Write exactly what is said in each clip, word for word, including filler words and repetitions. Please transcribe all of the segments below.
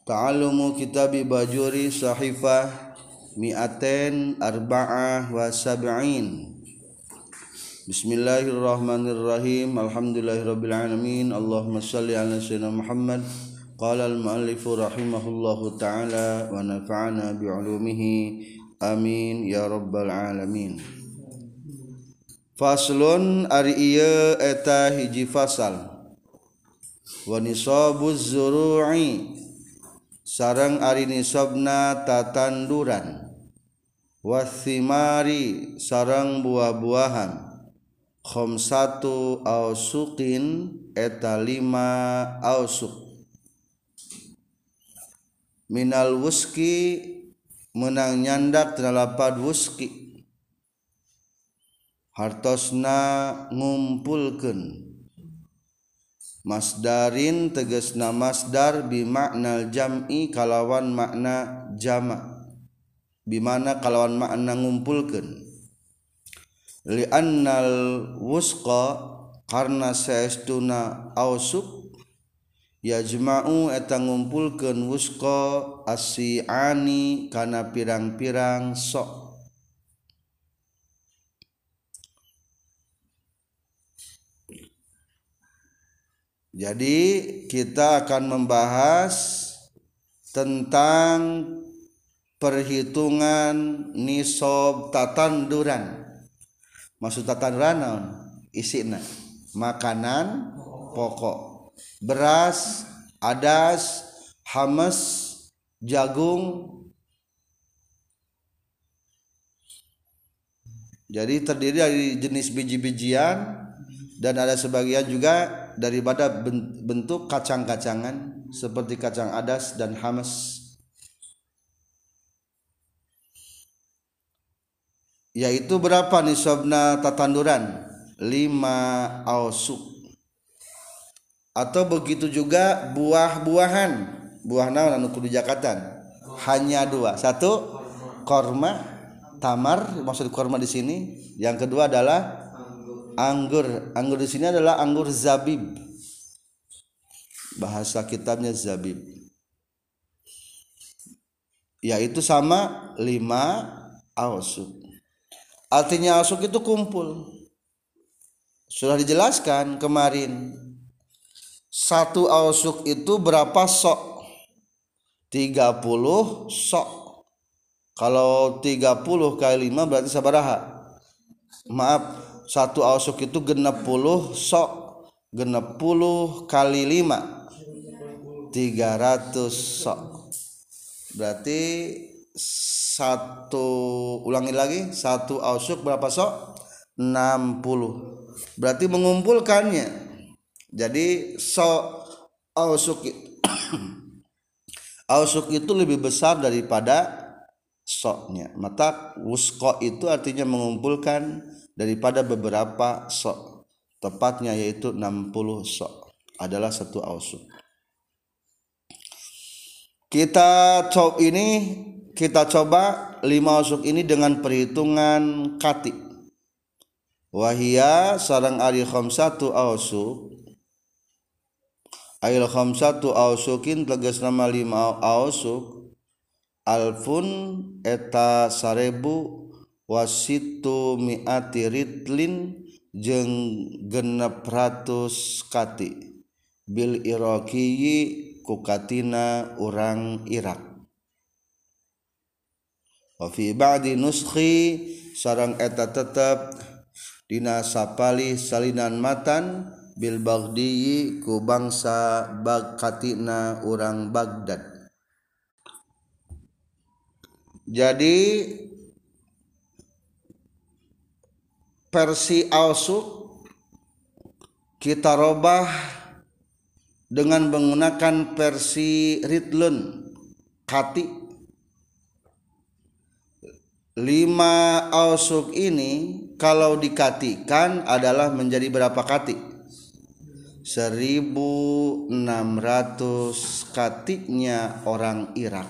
Ta'allumu kitabi Bajuri sahifah mi'atain arba'ah wa sab'in. Bismillahirrahmanirrahim. Alhamdulillahirabbil alamin. Allahumma shalli ala sayyidina Muhammad. Qala al-muallifu rahimahullahu ta'ala wa nafa'ana bi'ulumihi. Amin ya rabbal alamin. Faslun ari ieu eta hiji fasal. Wa nisabuz zuru'i sareng ari nisabna tatanduran, wathimari sareng buah-buahan, khamsatu ausuqin eta lima ausuk, minal wuski menang nyandak tina lapad wuski, hartosna ngumpulkeun, masdarin tegasna masdar bimakna jam'i kalawan makna jama' bimana kalawan makna ngumpulkeun, li'annal wusqa karna saestuna ausuk yajma'u eta ngumpulkeun wusqa asi'ani kana pirang-pirang sok. Jadi kita akan membahas tentang perhitungan nisab tatanduran. Maksud tatanduran naon? Isina makanan pokok, beras, adas, hamas, jagung. Jadi terdiri dari jenis biji-bijian dan ada sebagian juga daripada bentuk kacang-kacangan seperti kacang adas dan hamas, yaitu berapa nisabna tatanduran? Lima ausuk. Atau begitu juga buah-buahan, buah naon anu kudu jakatan? Hanya dua. Satu korma, tamar, maksud korma di sini. Yang kedua adalah anggur. Anggur di sini adalah anggur zabib. Bahasa kitabnya zabib. Yaitu sama lima ausuk. Artinya ausuk itu kumpul. Sudah dijelaskan kemarin. Satu ausuk itu berapa sok? tiga puluh sok. Kalau tiga puluh kali lima berarti sabaraha? Maaf, satu ausuk itu genep puluh sok, genep puluh kali lima tiga ratus sok. Berarti satu, ulangi lagi, satu ausuk berapa sok? enam puluh. Berarti mengumpulkannya. Jadi sok ausuk ausuk itu lebih besar daripada soknya. Maka wusqa itu artinya mengumpulkan daripada beberapa sok. Tepatnya yaitu enam puluh sok adalah satu ausuk. Kita coba ini kita coba lima ausuk ini dengan perhitungan kati. Wahia sareng ari khamsatu ausuk. Ail khamsatu ausukin tegas nama lima ausuk. Alfun eta sarebu wasitu mi'ati ritlin jeung genep ratus kati bil iraqiyi kukatina urang Irak. Wa fi ba'di nuskhi sareng eta tetep dina sapali salinan matan bil Baghdiyyi ku bangsa Bagkatina urang Baghdad. Jadi versi ausuk kita robah dengan menggunakan versi ritlun kati. Lima ausuk ini kalau dikatikan adalah menjadi berapa kati? seribu enam ratus katinya orang Irak.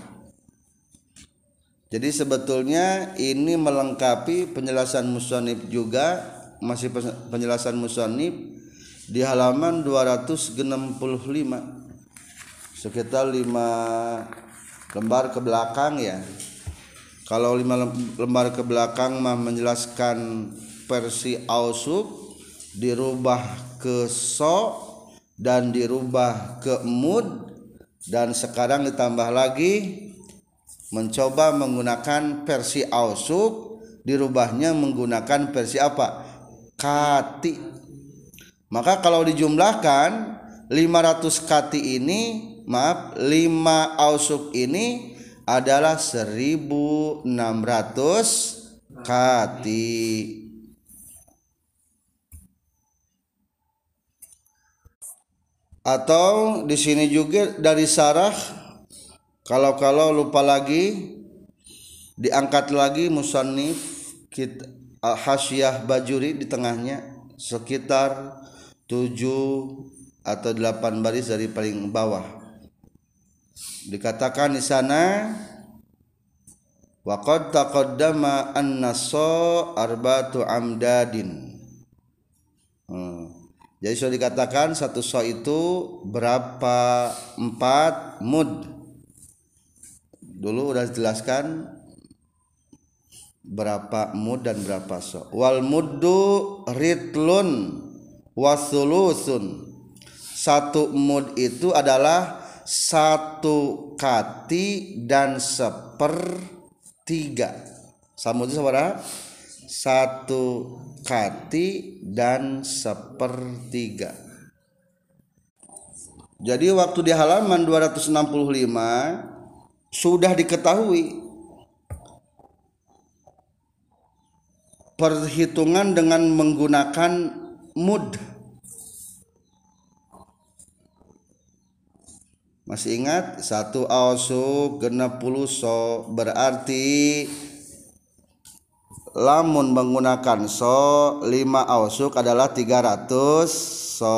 Jadi sebetulnya ini melengkapi penjelasan musannif juga, masih penjelasan musannif di halaman dua ratus enam puluh lima. sekitar lima lembar ke belakang ya. Kalau lima lembar ke belakang mah menjelaskan versi ausuk, dirubah ke so dan dirubah ke mud, dan sekarang ditambah lagi mencoba menggunakan versi ausuk, dirubahnya menggunakan versi apa? Kati. Maka kalau dijumlahkan lima ratus kati ini, maaf, lima ausuk ini adalah seribu enam ratus kati. Atau di sini juga dari sarah, kalau-kalau lupa lagi diangkat lagi musannif kita Hasyah Bajuri di tengahnya sekitar tujuh atau delapan baris dari paling bawah. Dikatakan di sana wa qad taqaddama an-naso arba'atu amdadin. Hmm. Jadi sudah dikatakan satu so itu berapa? Empat mud. Dulu udah dijelaskan berapa mud dan berapa so. Wal muddu ritlun wasulusun. Satu mud itu adalah satu kati dan sepertiga. Sama itu saudara, satu kati dan sepertiga. Jadi waktu di halaman dua ratus enam puluh lima sudah diketahui perhitungan dengan menggunakan mud. Masih ingat? Satu ausuk genep puluh so, berarti lamun menggunakan so lima ausuk adalah tiga ratus so.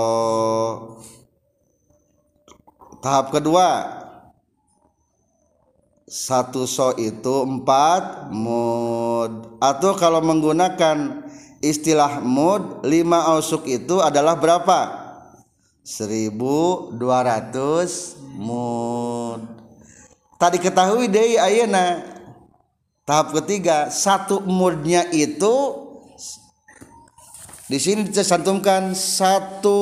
Tahap kedua, satu so itu empat mud. Atau kalau menggunakan istilah mud, lima ausuk itu adalah berapa? seribu dua ratus mud. Tadi ketahui deh ayeuna. Tahap ketiga, satu mudnya itu di sini dicantumkan satu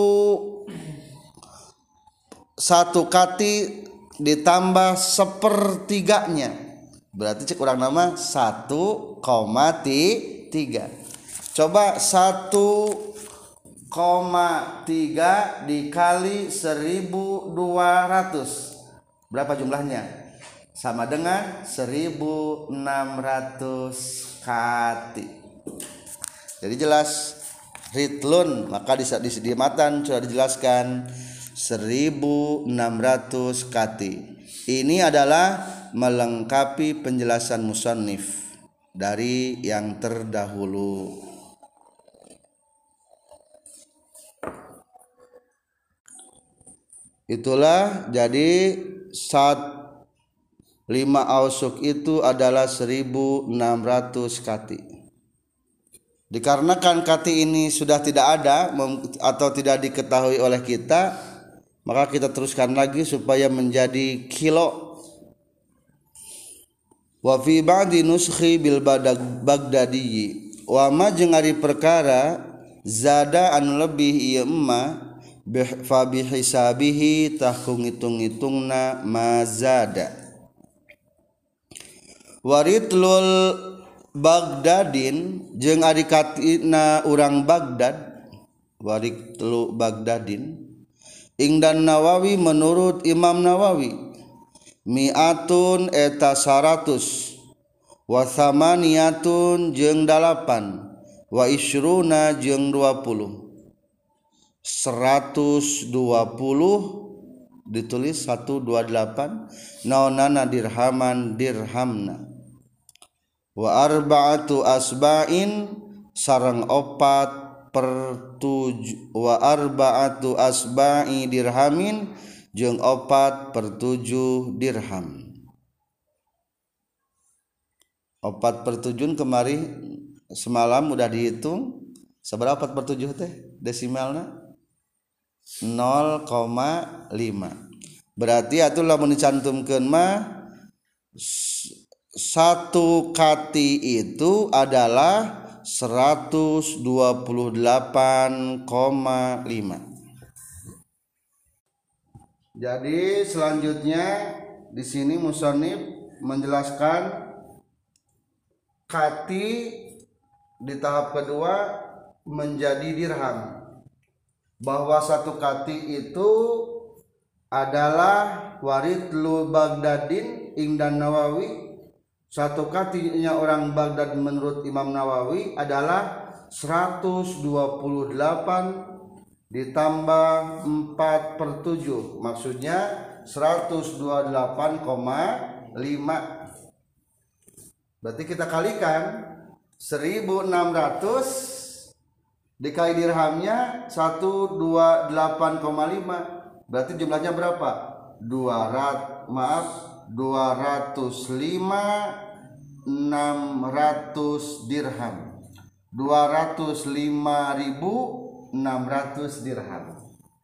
satu kati ditambah sepertiganya, berarti cek kurang nama satu koma tiga. Coba satu koma tiga dikali seribu dua ratus, berapa jumlahnya? Sama dengan seribu enam ratus kati. Jadi jelas ritlun, maka di di, di matan sudah dijelaskan seribu enam ratus kati. Ini adalah melengkapi penjelasan musannif dari yang terdahulu. Itulah jadi saat lima ausuk itu adalah seribu enam ratus kati. Dikarenakan kati ini sudah tidak ada atau tidak diketahui oleh kita, maka kita teruskan lagi supaya menjadi kilo. Wa fi ba'di nuskhi bil Baghdadi wa ma jeung ari perkara zada anu lebih ieu emma fa bi hisabihi tahku ngitung-ngitungna mazada. Waritlul Baghdadin jeung ari katina urang Baghdad, waritlu Baghdadin ingdan Nawawi menurut Imam Nawawi mi'atun eta saratus wa thamaniyatun jeung dalapan wa isyruna jeung dua puluh. Seratus dua puluh ditulis seratus dua puluh delapan naonana dirhaman dirhamna. Wa arba'atu asba'in sareng opat per tujuh wa arba'atu asba'i dirhamin jeung opat per tujuh dirham. Opat per tujuh kemari semalam udah dihitung seberapa per tujuh teh desimalna nol koma lima. Berarti atulah mencantumkeun mah satu kati itu adalah seratus dua puluh delapan koma lima. Jadi selanjutnya di sini musannif menjelaskan kati di tahap kedua menjadi dirham, bahwa satu kati itu adalah waridlu Baghdadin ingdan Nawawi. Satu katinya orang Baghdad menurut Imam Nawawi adalah seratus dua puluh delapan ditambah empat per tujuh, maksudnya seratus dua puluh delapan koma lima. Berarti kita kalikan seribu enam ratus dikali dirhamnya seratus dua puluh delapan koma lima, berarti jumlahnya berapa? dua ratus maaf dua ratus lima enam ratus dirham. dua ratus lima ribu enam ratus dirham.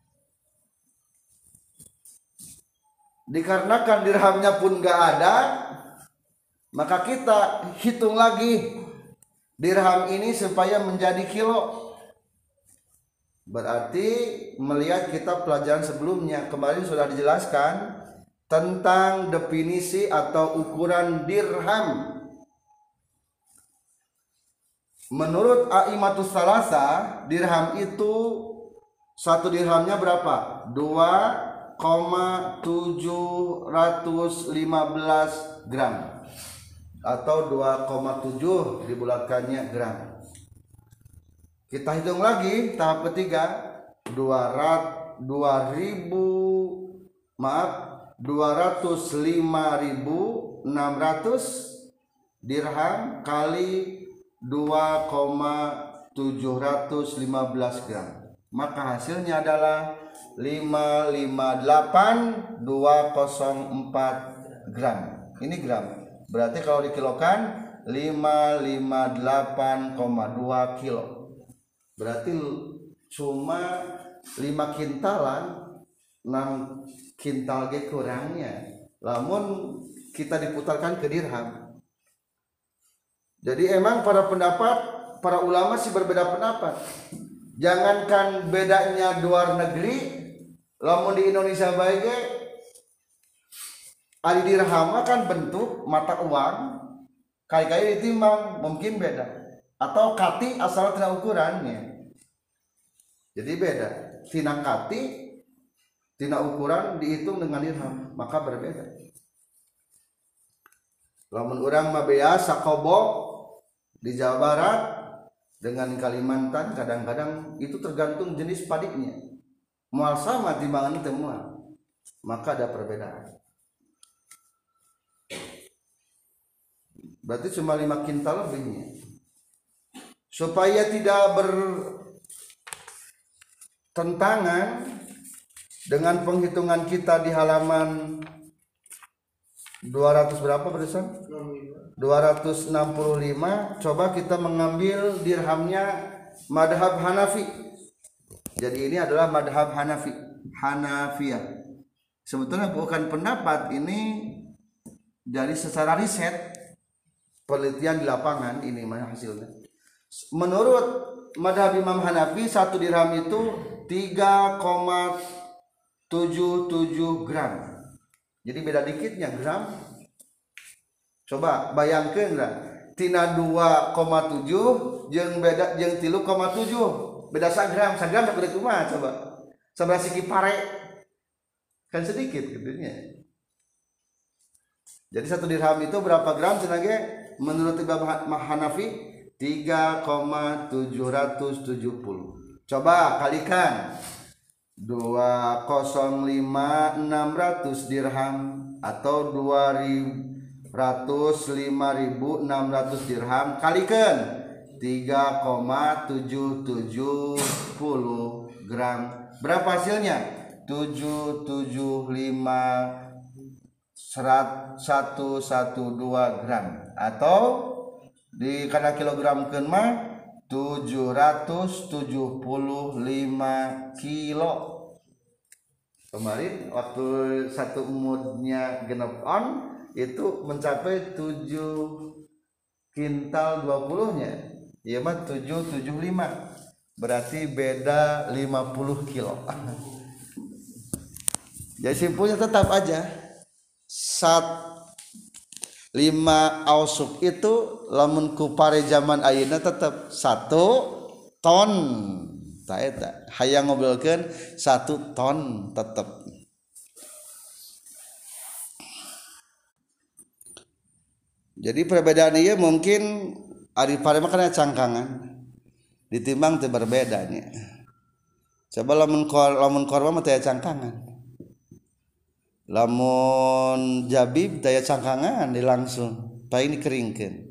Dikarenakan dirhamnya pun gak ada, maka kita hitung lagi dirham ini supaya menjadi kilo. Berarti melihat kitab pelajaran sebelumnya kemarin sudah dijelaskan tentang definisi atau ukuran dirham. Menurut A'immatus Salasa, dirham itu satu dirhamnya berapa? dua koma tujuh lima belas gram atau dua koma tujuh dibulatkannya gram. Kita hitung lagi tahap ketiga, dua ribu maaf dua ratus lima ribu enam ratus dirham kali dua koma tujuh lima belas gram, maka hasilnya adalah lima ratus lima puluh delapan ribu dua ratus empat gram. Ini gram. Berarti kalau dikilokan lima ratus lima puluh delapan koma dua kilo. Berarti cuma lima kintalan, enam kintal ge kurangnya. Lamun kita diputarkan ke dirham. Jadi emang para pendapat, para ulama sih berbeda pendapat. Jangankan bedanya luar negeri, lamun di Indonesia bae ge ari dirham kan bentuk mata uang, kali-kali ditimbang mungkin beda. Atau kati asal tina ukurannya. Jadi beda. Tina kati, tina ukuran dihitung dengan dirham, maka berbeda. Lamun urang mah bea sakobo di Jawa Barat dengan Kalimantan kadang-kadang itu tergantung jenis padinya. Moal sama timbangan teu moal. Maka ada perbedaan. Berarti cuma lima kintal lebihnya. Supaya tidak bertentangan dengan penghitungan kita di halaman dua ratus berapa barusan? dua ratus enam puluh lima. Coba kita mengambil dirhamnya madhab Hanafi. Jadi ini adalah madhab Hanafi, Hanafiyah. Sebetulnya bukan pendapat, ini jadi secara riset, penelitian di lapangan ini mana hasilnya. Menurut madhab Imam Hanafi, satu dirham itu tiga koma tujuh tujuh gram. Jadi beda dikitnya gram. Coba bayangkan lah, tina dua koma tujuh jeung beda jeung tiga koma tujuh, beda sagram, sagram tak beda kumaha coba. Sabaraha siki pare. Kan sedikit gitunya. Jadi satu dirham itu berapa gram cenah ge? Menurut Imam Hanafi tiga koma tujuh tujuh nol. Coba kalikan dua nol lima enam ratus dirham atau dua ratus lima ribu enam ratus dirham kalikan tiga koma tujuh tujuh nol gram. Berapa hasilnya? tujuh tujuh lima satu satu dua gram atau di kana kilogram keun mah tujuh ratus tujuh puluh lima kilo. Kemarin waktu satu moodnya genep on itu mencapai tujuh kintal dua puluh-nya. Iya mah tujuh tujuh lima. Berarti beda lima puluh kilo. Jadi simpulnya tetap aja sat lima ausuk itu lamun ku pare zaman ayeuna tetap satu ton. Tah eta hayang ngobrolkeun satu ton tetap. Jadi perbedaan ieu mungkin ari pare mah kana cangkangan ditimbang teu berbedanya. Coba lamun kor lamun korma mah teu cangkangan. Lamun jabib daya cangkangan di langsung paling dikeringkeun.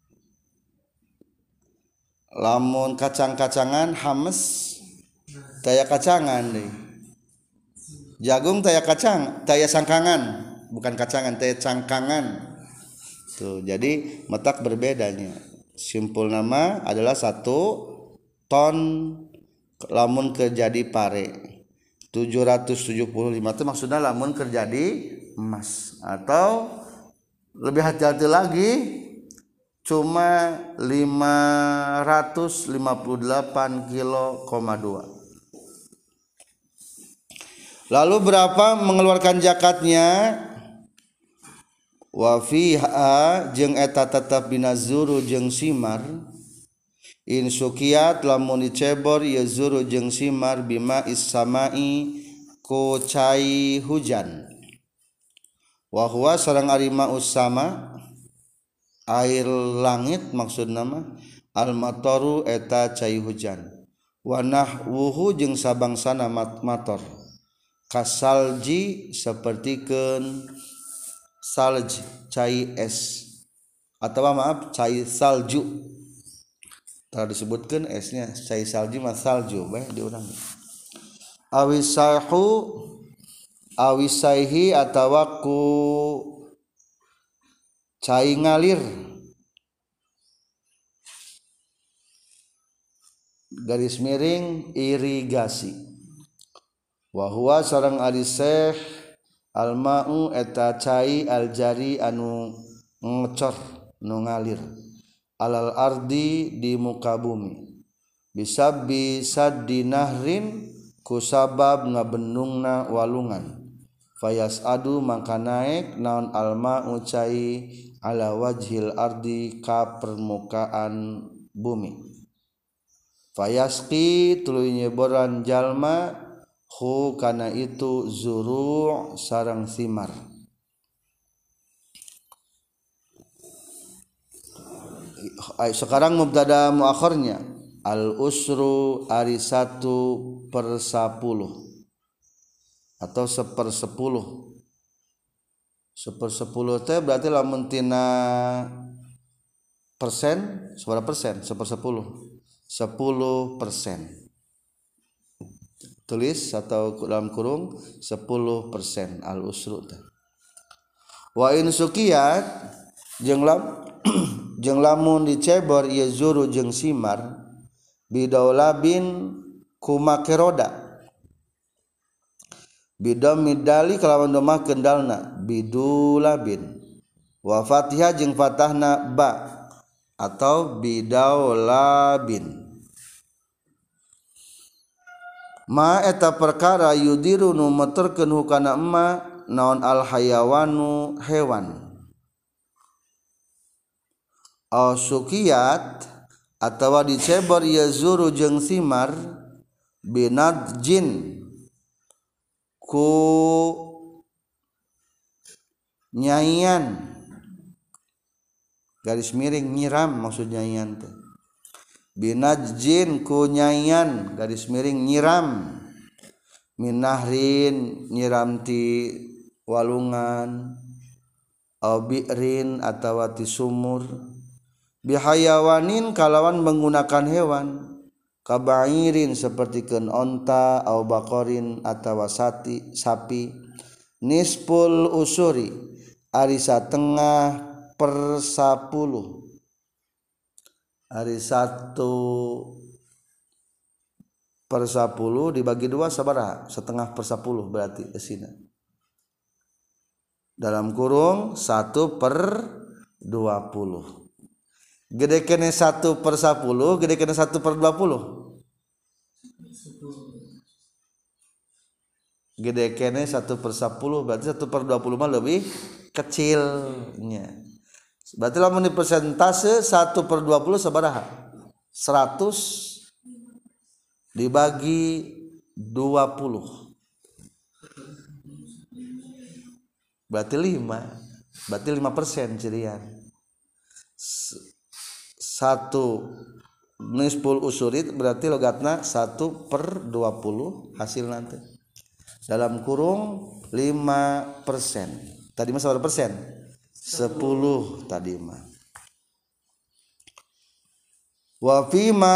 Lamun kacang-kacangan hames daya kacangan deui. Jagung daya kacang, daya cangkangan, bukan kacangan, daya cangkangan. Tuh, jadi metak berbedanya. Simpul nama adalah satu ton lamun kerjadi pare. tujuh ratus tujuh puluh lima itu maksudnya lamun kerja di emas atau lebih hati-hati lagi cuma lima ratus lima puluh delapan kilo koma dua. Lalu berapa mengeluarkan zakatnya? Wa fiha jeung eta tetep dina zuru jeung simar in sukiat lamun dicebor ya zuru jeung simar bima issamai ku cai hujan wa huwa sareng ari ma usama air langit maksudna mah al mataru eta cai hujan wa nahwuhu jeung sabangsana mator kasalji sapertikeun salj cai es atau maaf cai salju. Kalau disebutkan esnya cai salju mah salju bae diurang. Awisaihu awisaihi atawa ku cai ngalir garis miring irigasi. Wa huwa sareng ari seh alma'u eta cai aljari anu ngecor nu ngalir alal ardi di muka bumi bisa bisa dinahrin ku sabab ngabendungna walungan fayas adu maka naik naon alma ucai ala wajhil ardi ka permukaan bumi fayaski tuluy nyeboran jalma hu kana itu zuru' sareng simar. Sekarang mubtada muakhirnya al usru ari satu per sepuluh atau seper sepuluh seper sepuluh teh berarti lamun tina persen seberapa persen seper sepuluh sepuluh persen tulis atau dalam kurung sepuluh persen al usru teh wa in sukiyat jeung lam jeung lamun dicebor ieu zuru jeung simar bidaulabin kumake roda bidam midali kalawan domah kendalna bidulabin wa fatihah jeung fatahna ba atau bidaulabin ma eta perkara yudiru nu meterkeun hukana emma naon al hayawanu hewan au sukiyat atawa dicebor ya zuru jeung simar binadjin ku nyaian garis miring nyiram maksudnya nyian teh binadjin ku nyaian garis miring nyiram minahrin nyiram ti walungan au bi'rin atawa ti sumur bihayawanin kalawan menggunakan hewan kabairin sepertikeun onta au bakorin atawa sati sapi nisful usuri ari satengah per sepuluh ari satu per sepuluh dibagi dua sabaraha? Setengah per sepuluh berarti esina. Dalam kurung satu per dua puluh. Gede kene satu per sepuluh, gede kene satu per dua puluh. Gede kene satu per sepuluh, berarti satu per dua puluh mah lebih kecilnya. Berarti lamun di persentase satu per dua puluh sabaraha? seratus dibagi dua puluh. Berarti lima. Berarti lima persen cirian. Satu nisful usurit berarti logatna satu per dua puluh hasil nanti. Dalam kurung lima persen. Tadi mah berapa persen? sepuluh tadi mah. Wa fima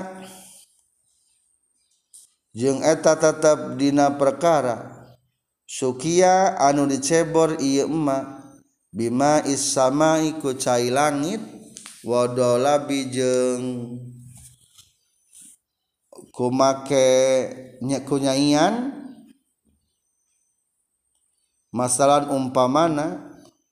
jeung eta tetep dina perkara sukia anu dicebor ieu emma bima is-samai ku cai langit wa dolabi jeung kumake nya kunyaian masalan umpamana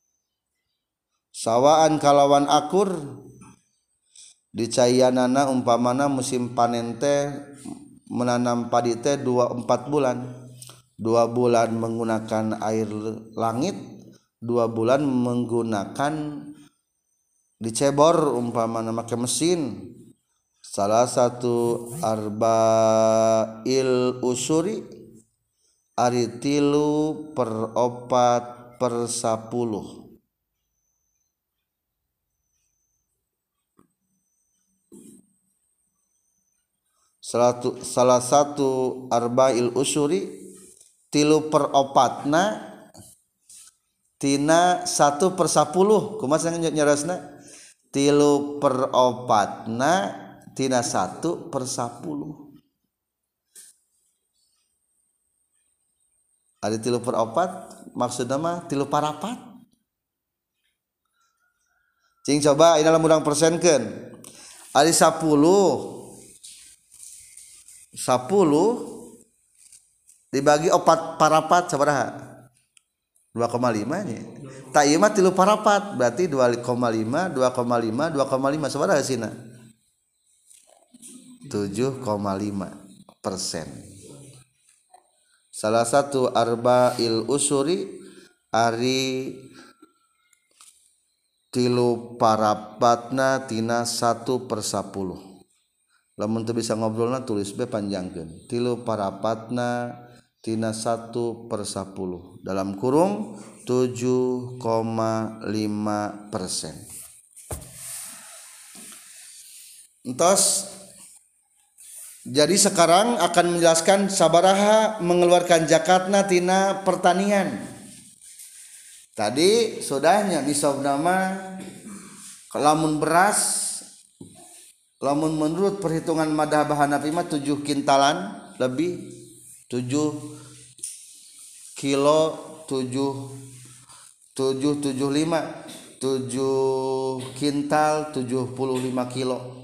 sawaan kalawan akur dicaianana umpamana musim panen teh menanam padi teh dua empat bulan, dua bulan menggunakan air langit, dua bulan menggunakan dicebor umpamana make mesin. Salah satu arba'il usuri ari tilu per opat per sapuluh. Salatu, salah satu arba'il usuri tilu per opatna tina satu per sepuluh. Kumaha nyerasna? Tilu per opatna tina satu per sepuluh. Ada tilu per opat maksudna mah tilu parapat. Cing coba ini dalam urang persenkeun. Ari sepuluh sepuluh dibagi opat parapat sabaraha? dua koma lima nya. Tak ieu mah tilu parapat berarti dua koma lima, dua koma lima, dua koma lima sabaraha sina? tujuh koma lima persen. Salah satu arba'il usuri ari tilu parapatna tina satu per sepuluh. Lamun teu bisa ngobrolna tulis be panjangkeun. Tilu parapatna tina satu per sepuluh. Dalam kurung tujuh koma lima persen. Entos jadi sekarang akan menjelaskan sabaraha mengeluarkan zakatna tina pertanian. Tadi sudahnya nisabna mah lamun beras, lamun menurut perhitungan madhab Hanafi mah tujuh kintalan lebih, tujuh kilo, tujuh tujuh tujuh lima, tujuh kintal, tujuh puluh lima kilo.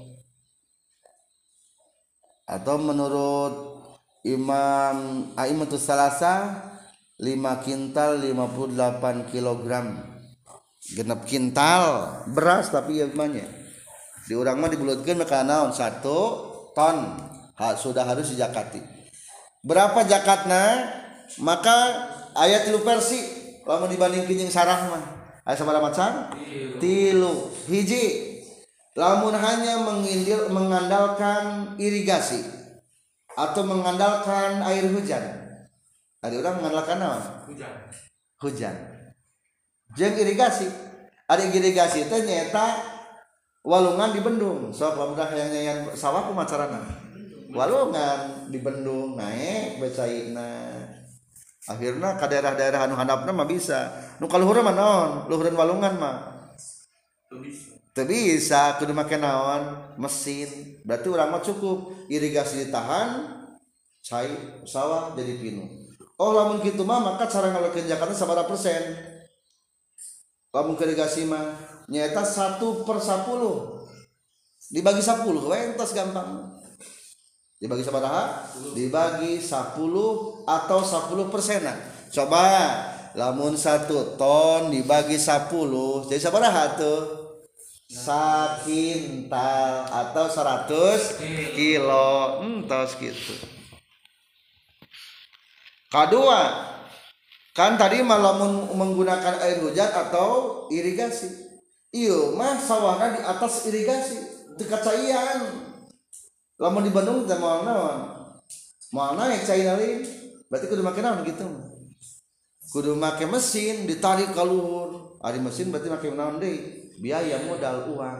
Atau menurut Imam Aimatus Salasa lima kintal lima puluh delapan kilogram. Genep kintal beras tapi ya banyak. Di urang mah dibulutkeun ka naon satu ton. Ha, sudah harus dijakati. Berapa zakatna? Maka ayat tilu versi lamun dibandingkeun jeung sarah mah. Aya sabaraha macam? Tilu. Hiji. Lamun hanya mengindil, mengandalkan irigasi atau mengandalkan air hujan. Ada orang mengandalkan apa? Hujan. Hujan. Jeung irigasi. Ada irigasi teh nyata walungan di bendung. So pamudah yang nyanyian sawah kumaha carana? Walungan di bendung naik becaina. Akhirna ka daerah-daerah anu handapna mah bisa. Nu kaluhur mah naon? Luhureun walungan mah. Teu bisa kudu make naon? Mesin. Berarti urang mah cukup irigasi ditahan, cai sawah jadi pinu. Oh lamun kitu mah maka cara ngaleukeun zakatna sabaraha persen? Lamun irigasi mah nyaeta satu per sepuluh dibagi sepuluh we entos gampang. dibagi sabaraha dibagi sepuluh atau sepuluh persenan. Coba lamun satu ton dibagi sepuluh jadi sabaraha tuh sakintal atau seratus kilo entos gitu. Kedua kan tadi malamun menggunakan air hujan atau irigasi. Iya mah sawahna di atas irigasi teu kacaian. Lamun di Bandung teh moal naon? Moal naik cai lain. Berarti kudu make naon gitu. Kudu make mesin ditarik ka luhur. Ari mesin berarti make naon deui? Biaya modal uang.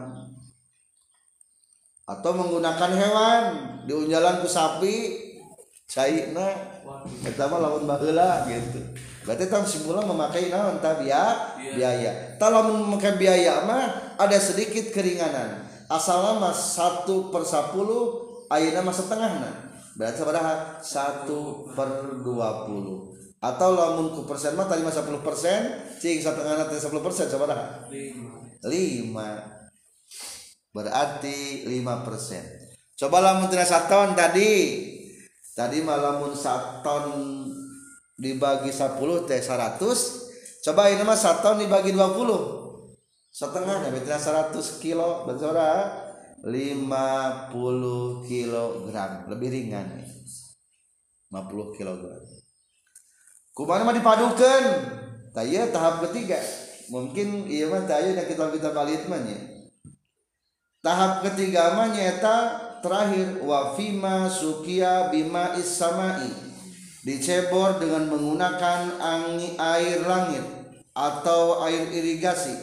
Atau menggunakan hewan diunjalan ku sapi caina eta mah lamun baheula gitu. Berarti tah simpulan memakai naon tah biaya. Tah lamun memakai biaya mah ada sedikit keringanan. Asalna mah satu per sepuluh ayeuna mah setengahna. Berarti sabaraha? satu per dua puluh. Atau lamun ku persen mah tadi mah sepuluh persen, cing satengahna teh sepuluh persen sabaraha? lima. Berarti lima persen. Coba lamun tina saton tadi. Tadi mah lamun saton dibagi sepuluh teh seratus. Coba ini mah saton dibagi dua puluh. Setengahnya berarti seratus kilo, berarti sabaraha? lima puluh kilogram, lebih ringan nih. lima puluh kilogram. Kumaha mah dipadukeun. Tah ieu tahap ketiga. Mungkin ieu mah tah ieu kita kita balik mah nya. Tahap ketiga mah nyaeta terakhir wa fima suqiya bima is-samai. Dicebor dengan menggunakan angin air langit atau air irigasi.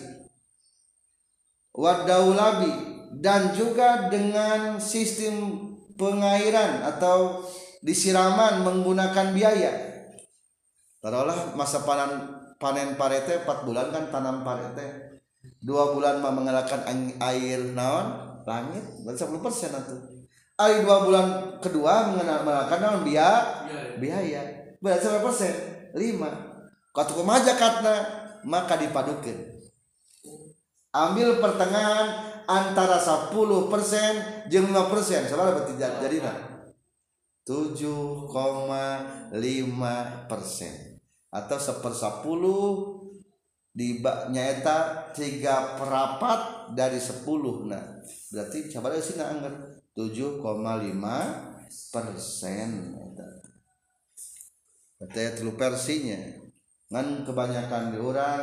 Wa daulabi dan juga dengan sistem pengairan atau disiraman menggunakan biaya. Taruhlah masa panen panen parete empat bulan kan tanam parete. dua bulan mah mengalahkan air naon langit berarti sepuluh persen atuh. Ari dua bulan kedua mengalahkan naon biaya biaya berarti berapa persen? lima. Katu kumaha zakatna maka dipadukeun. Ambil pertengahan antara sepuluh persen jeung lima persen sabaraha berarti jadina tujuh koma lima persen atau sepersepuluh di nyaeta tiga perapat dari sepuluh. Nah berarti sabaraha sina anggar tujuh koma lima persen. Berarti tilu persinya ngan kebanyakan di urang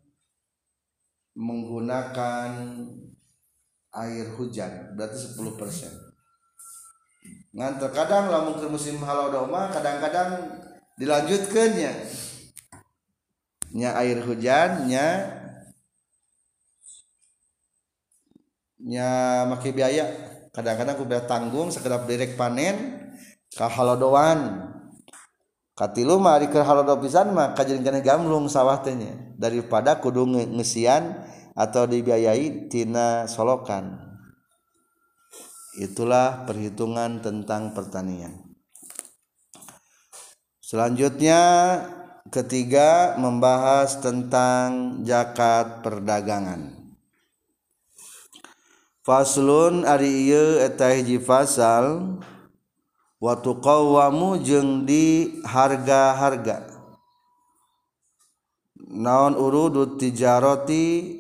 menggunakan air hujan berarti sepuluh persen. Ngan terkadang lamun ke musim halodo mah kadang-kadang dilanjutkeun nya. Nya air hujan nya nya make biaya. Kadang-kadang kudu tanggung sakedap direk panen ka halodoan. Katilu mah ari keur halodo pisan mah kajian kana gamlung sawah teh nya daripada kudu ngesian atau dibiayai tina solokan. Itulah perhitungan tentang pertanian. Selanjutnya ketiga membahas tentang zakat perdagangan. Faslun ari ieu eta hiji fasal wa tuqawwamu jeung di harga-harga. Naon urudut tijarati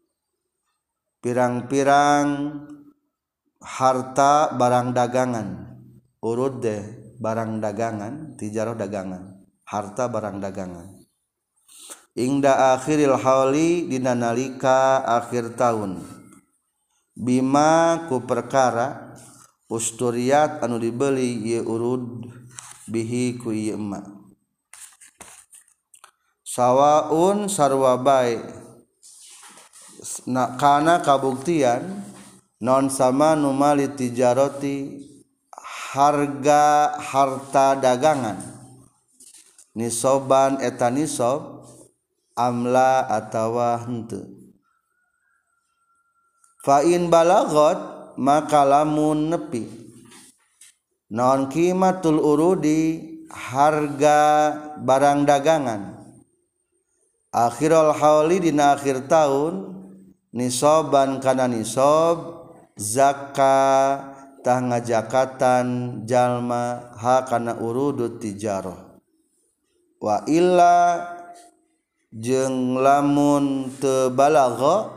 pirang-pirang harta barang dagangan. Urud deh barang dagangan, tijarah dagangan, harta barang dagangan. Ingda akhiril hauli dina nalika akhir tahun. Bima ku perkara usturiyat anu dibeli ieu urud bihi ku ieu emak. Sawaun sarwa bae na kana kabuktian non sama numali tijarati harga harta dagangan nisoban eta nisob amla atawa henteu. Fa in balagot maka lamun nepi non qimatul urudi harga barang dagangan akhirul hauli dina akhir tahun nisoban kana nisob zakka tah ngajakatan jalma ha kana urudut tijarah wa illa jeung lamun teu balagha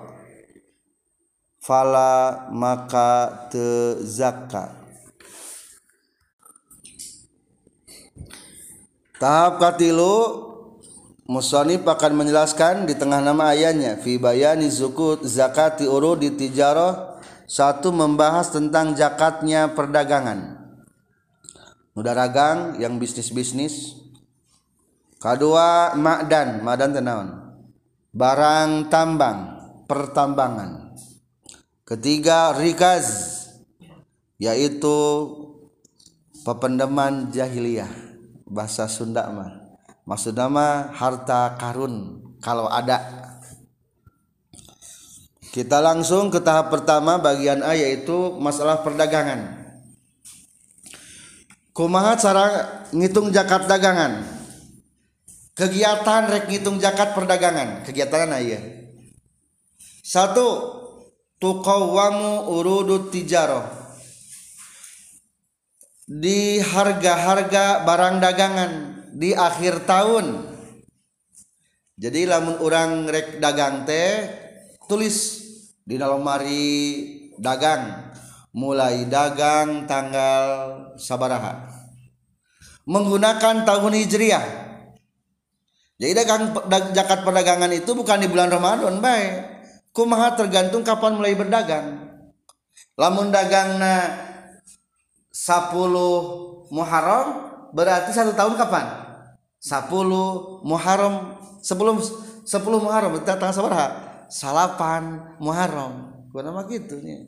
fala maka teu zakat. Tahap katilu musannif akan menjelaskan di tengah nama ayatnya fi bayani zukut zakati urudi tijarah. Satu, membahas tentang zakatnya perdagangan udah dagang yang bisnis-bisnis. Kedua, ma'dan, ma'dan teh naon? Barang tambang, pertambangan. Ketiga, rikaz, yaitu pependeman jahiliyah, bahasa Sunda mah. Maksudnya mah harta karun kalau ada. Kita langsung ke tahap pertama bagian A, yaitu masalah perdagangan. Kumaha cara ngitung zakat dagangan? Kegiatan rek ngitung zakat perdagangan, kegiatan aya. Satu, tuqawwamu urudut tijarah. Di harga-harga barang dagangan di akhir tahun. Jadi lamun urang rek dagang teh tulis di lemari dagang mulai dagang tanggal sabaraha menggunakan tahun hijriah. Jadi dagang zakat perdagangan itu bukan di bulan Ramadan bae. Kumaha tergantung kapan mulai berdagang. Lamun dagangna sepuluh Muharram berarti satu tahun kapan? sepuluh Muharram, sebelum sepuluh Muharram berarti tanggal sabaraha? Salapan Muharram, kunaon gitu nya.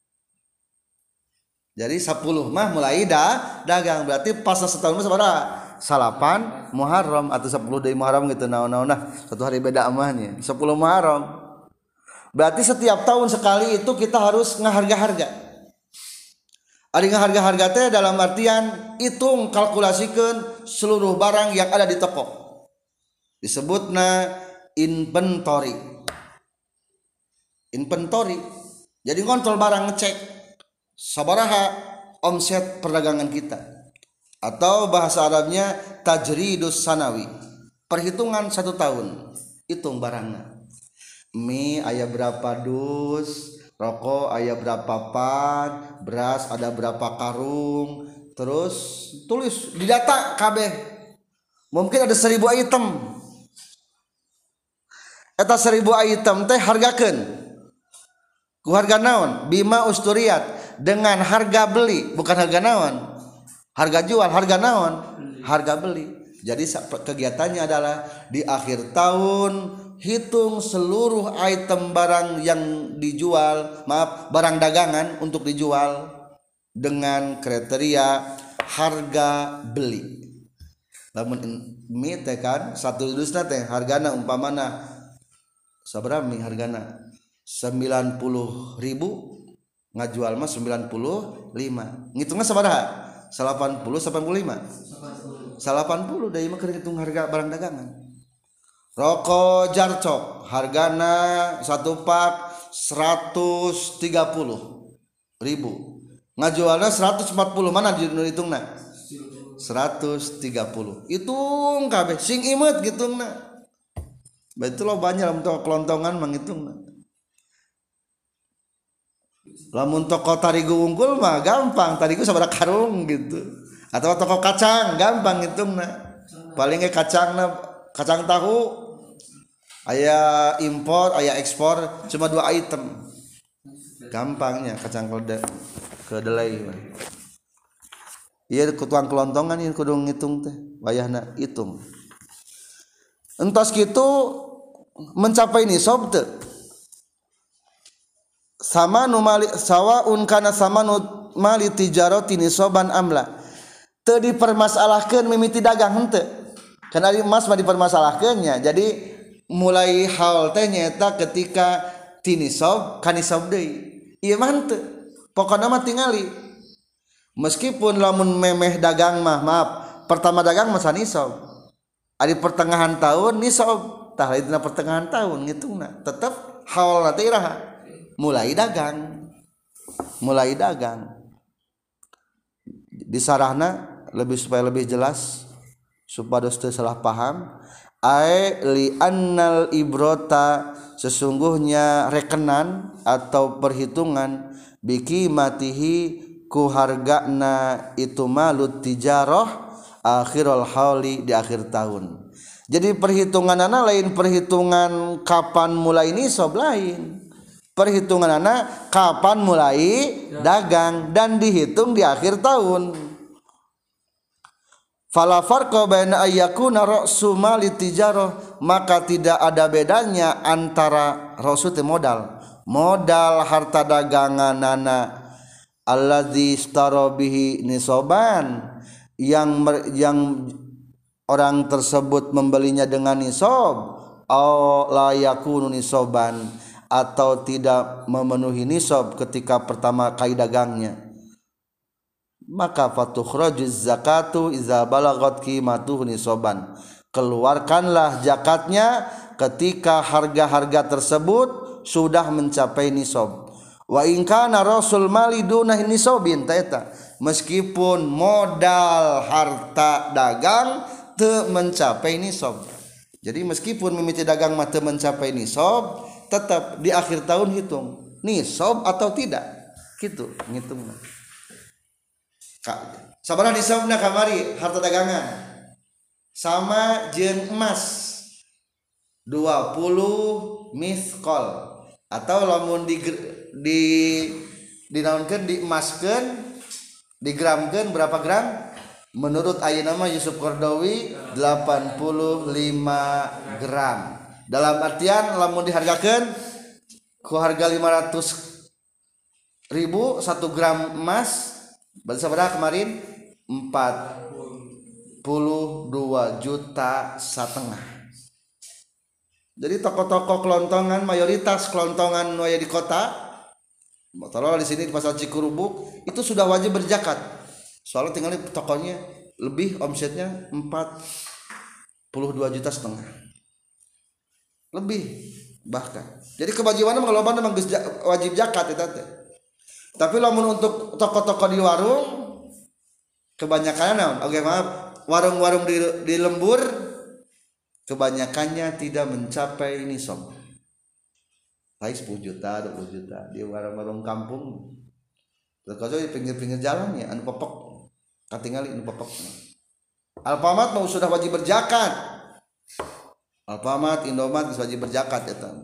Jadi sepuluh mah mulai dah dagang berarti pas setahun mah sabaraha? Salapan Muharram atau sepuluh deui Muharram gitu naon-naon nah satu hari beda amahnya sepuluh Muharram. Berarti setiap tahun sekali itu kita harus ngaharga-harga. Ari ngaharga-harga teh dalam artian hitung kalkulasikeun seluruh barang yang ada di toko. Disebutna inventory. Inventory. Jadi ngontrol barang, ngecek sabaraha omset perdagangan kita. Atau bahasa Arabnya tajridus sanawi. Perhitungan satu tahun. Hitung barangnya. Mie aya berapa dus, rokok aya berapa pan, beras ada berapa karung, terus tulis di data kabeh. Mungkin ada seribu item. Eta seribu item teh hargakeun. Ku harga naon? Bima usturiyat, dengan harga beli, bukan harga naon? Harga jual, harga naon? Harga beli. Jadi kegiatannya adalah di akhir tahun hitung seluruh item barang yang dijual, maaf, barang dagangan untuk dijual dengan kriteria harga beli. Lamun mie teh kan satu dusna teh hargana umpamana sabaraha mie hargana sembilan puluh ribu, ngajual mah sembilan puluh lima, ngitungnya sabaraha? delapan puluh delapan puluh lima delapan puluh dari mah ngitung harga barang dagangan. Rokok jarcok hargana satu pak seratus tiga puluh ribu, ngajualnya seratus empat puluh, mana ditungna? seratus tiga puluh. Hitung kabeh sing imet gitungna. Betul lo banyak lamun kelontongan mangitungna. Lamun toko tarigu unggul mah gampang, tarigu sabaraha karung gitu. Atau toko kacang gampang ngitungna. Palingnya kacangna kacang tahu aya impor, aya ekspor cuma dua item. Gampangnya kacang kedelai. Ieu tukang kelontongan ieu kudu ngitung teh, wayahna hitung. Entos kitu mencapai nisab teu? Sama nu mali sawaun kana sama nu mali tijarati nisaban amla. Teu dipermasalahkeun mimiti dagang henteu. Kana ari emas mah dipermasalahkeunnya. Jadi mulai hal teh nyaeta ketika tinisab ka nisab deui. Ieu mah henteu. Pokona mah tingali. Meskipun lamun memeh dagang mah maaf, pertama dagang mah sanisab. Ari pertengahan tahun nisab, tah lainna pertengahan tahun ngitungna. Tetep haulna teh iraha? Mulai dagang. Mulai dagang. disarahna lebih supaya lebih jelas supados teu salah paham. Ai li annal ibrota sesungguhnya rekenan atau perhitungan biki matihi ku hargana itu malut tijarah akhirul hauli di akhir tahun. Jadi perhitunganana lain perhitungan kapan mulai nisab lain. Perhitunganana kapan mulai dagang dan dihitung di akhir tahun. Fala farqa baina ayyakuna ra'su mali tijarah, maka tidak ada bedanya antara ra'su teh modal modal harta daganganana alladzi istara bihi nisaban yang yang orang tersebut membelinya dengan nisab au la yakunu nisaban atau tidak memenuhi nisab ketika pertama kali dagangnya, maka fatukhrajuz zakatu iza balagat qimatuhu nisaban, keluarkanlah zakatnya ketika harga-harga tersebut sudah mencapai nisab. Wa in kana rasul mali dunah nisabin taeta, meskipun modal harta dagang teu mencapai nisab. Jadi meskipun mimiti dagang mah teu mencapai nisab, tetap di akhir tahun hitung nisab atau tidak, gitu ngitungna. Sabaraha nisabna kamari harta dagangan sama jeung emas dua puluh misqal, atau lamun di di dinaonkeun diemaskeun digramkeun berapa gram menurut ayeuna mah Yusuf Qardawi delapan puluh lima gram, dalam artian lamun dihargakeun ku harga lima ratus ribu satu gram emas berarti sabaraha kemarin empat puluh dua juta setengah. Jadi toko-toko kelontongan mayoritas kelontongan aya di kota, motor di sini di pasar Cikurubuk itu sudah wajib berzakat. Soalnya tinggal di tokonya lebih omsetnya empat puluh dua juta setengah. Lebih bahkan. Jadi kewajiban mah loba mah wajib zakat eta teh. Tapi lamun untuk toko-toko di warung kebanyakan naon? Oke, maaf, warung-warung di, di lembur kebanyakannya tidak mencapai nisab. Paling sepuluh juta, dua puluh juta di warung-warung kampung. Terus di pinggir-pinggir jalan ya anu popok. Katingali anu popok. Alfamart mau sudah wajib berzakat. Alfamart, Indomart geus wajib berzakat eta.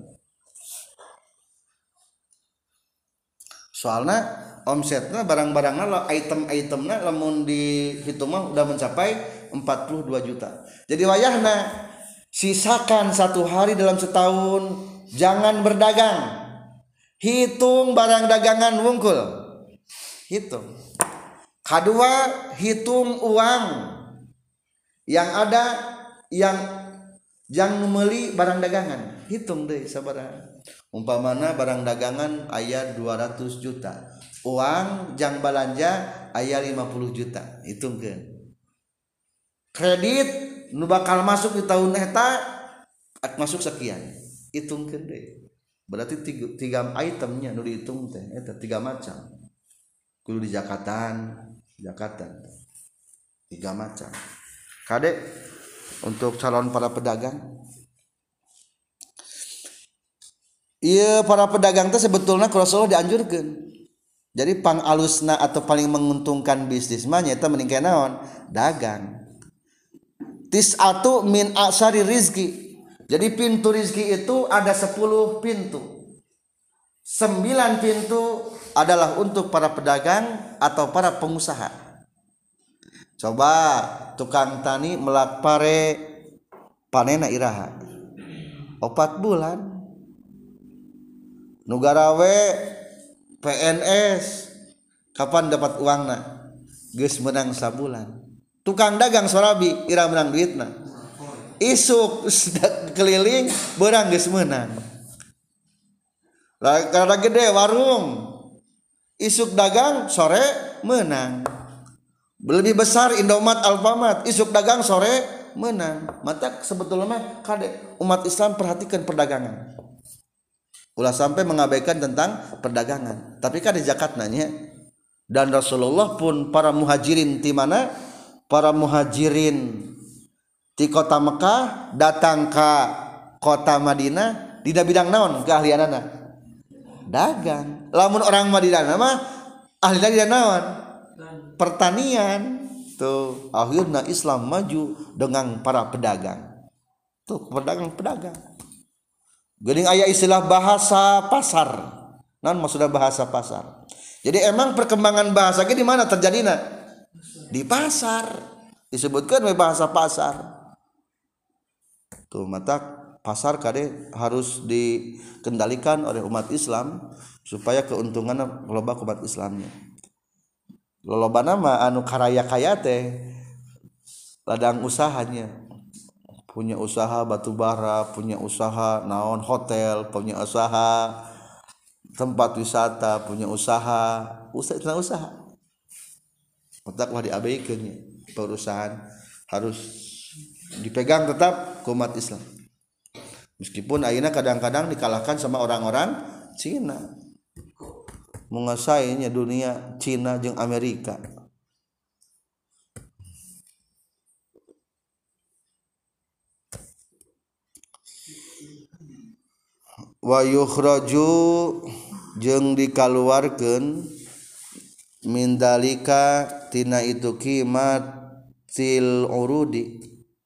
Soalnya omsetnya barang-barangnya lah, item-itemnya lamun dihitung mah udah mencapai empat puluh dua juta. Jadi wayahna sisakan satu hari dalam setahun, jangan berdagang, hitung barang dagangan wungkul, hitung. Kedua, hitung uang yang ada, yang yang membeli barang dagangan, hitung deh sabaraha. Umpamana barang dagangan aya dua ratus juta, uang jang balanja aya lima puluh juta, hitungkeun. Kredit nu bakal masuk di tahun eta masuk sekian, hitungkeun deui. Berarti tiga, tiga itemnya nu dihitung teh eta tiga macam. Kudu di zakatan, zakatan. Tiga macam. Kade untuk calon para pedagang. Iya, para pedagang itu sebetulnya Rasulullah dianjurkan. Jadi pang alusna atau paling menguntungkan bisnis mah nyata meningkat naon? Dagang. Tis'atu min aksari rizki. Jadi pintu rizki itu ada sepuluh pintu. Sembilan pintu adalah untuk para pedagang atau para pengusaha. Coba tukang tani melak pare panena iraha opat bulan. Nugarawe P N S kapan dapat uangna? Geus menang sabulan. Tukang dagang sorabi ira menang duitna. Isuk keliling beurang geus meunang. Lah kada gede warung. Isuk dagang sore menang. Lebih besar Indomart, Alfamart, isuk dagang sore menang. Mata sebetulnya mah kade umat Islam perhatikan perdagangan. Ulah sampai mengabaikan tentang perdagangan. Tapi kan di zakat nanya dan Rasulullah pun para muhajirin di mana para muhajirin di kota Mekah datang ke kota Madinah dina bidang naon keahlianana dagang. Lamun orang Madinah mah ahli dina naon pertanian. Tuh akhirnya Islam maju dengan para pedagang. Tuh pedagang-pedagang. Geuning aya istilah bahasa pasar. Naon maksudna bahasa pasar? Jadi emang perkembangan bahasa ge di mana terjadina? Di pasar. Disebutkan bahasa pasar. Tuh mata pasar kade harus dikendalikan oleh umat Islam supaya keuntungan loba umat Islamnya. Lolobana mah anu karaya-kaya teh ladang usahanya. Punya usaha batu bara, punya usaha naon hotel, punya usaha tempat wisata, punya usaha, usaha usaha. Otak mah diabaikeun nya. Perusahaan harus dipegang tetap ke umat Islam. Meskipun ayeuna kadang-kadang dikalahkan sama orang-orang Cina. Menguasainya dunia Cina jeung Amerika. Wa yukhraju jeung dikaluarkeun min dalika tina itu qimatil urudi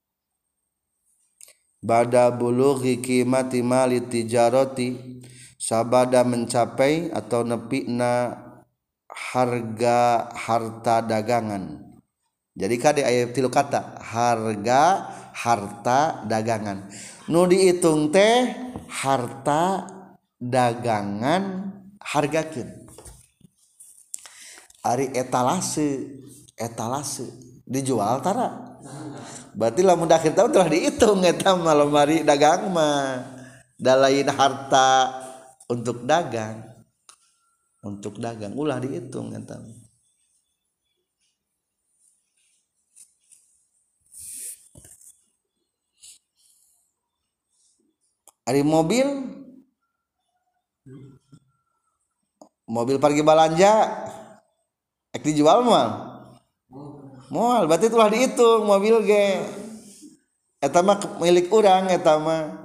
bada bulughi qimati mali tijarati sabada mencapai atau nepina harga harta dagangan. Jadi kade aya tilu kata harga harta dagangan. Nu dihitung teh harta dagangan hargakeun. Ari etalase etalase dijual tara. Berarti lamun akhir tahun telah dihitung eta mah lemari dagang mah. Da lain harta untuk dagang untuk dagang ulah dihitung eta. Ari mobil mobil pergi belanja ek dijual mah moal berarti telah dihitung mobil ge eta mah milik urang eta mah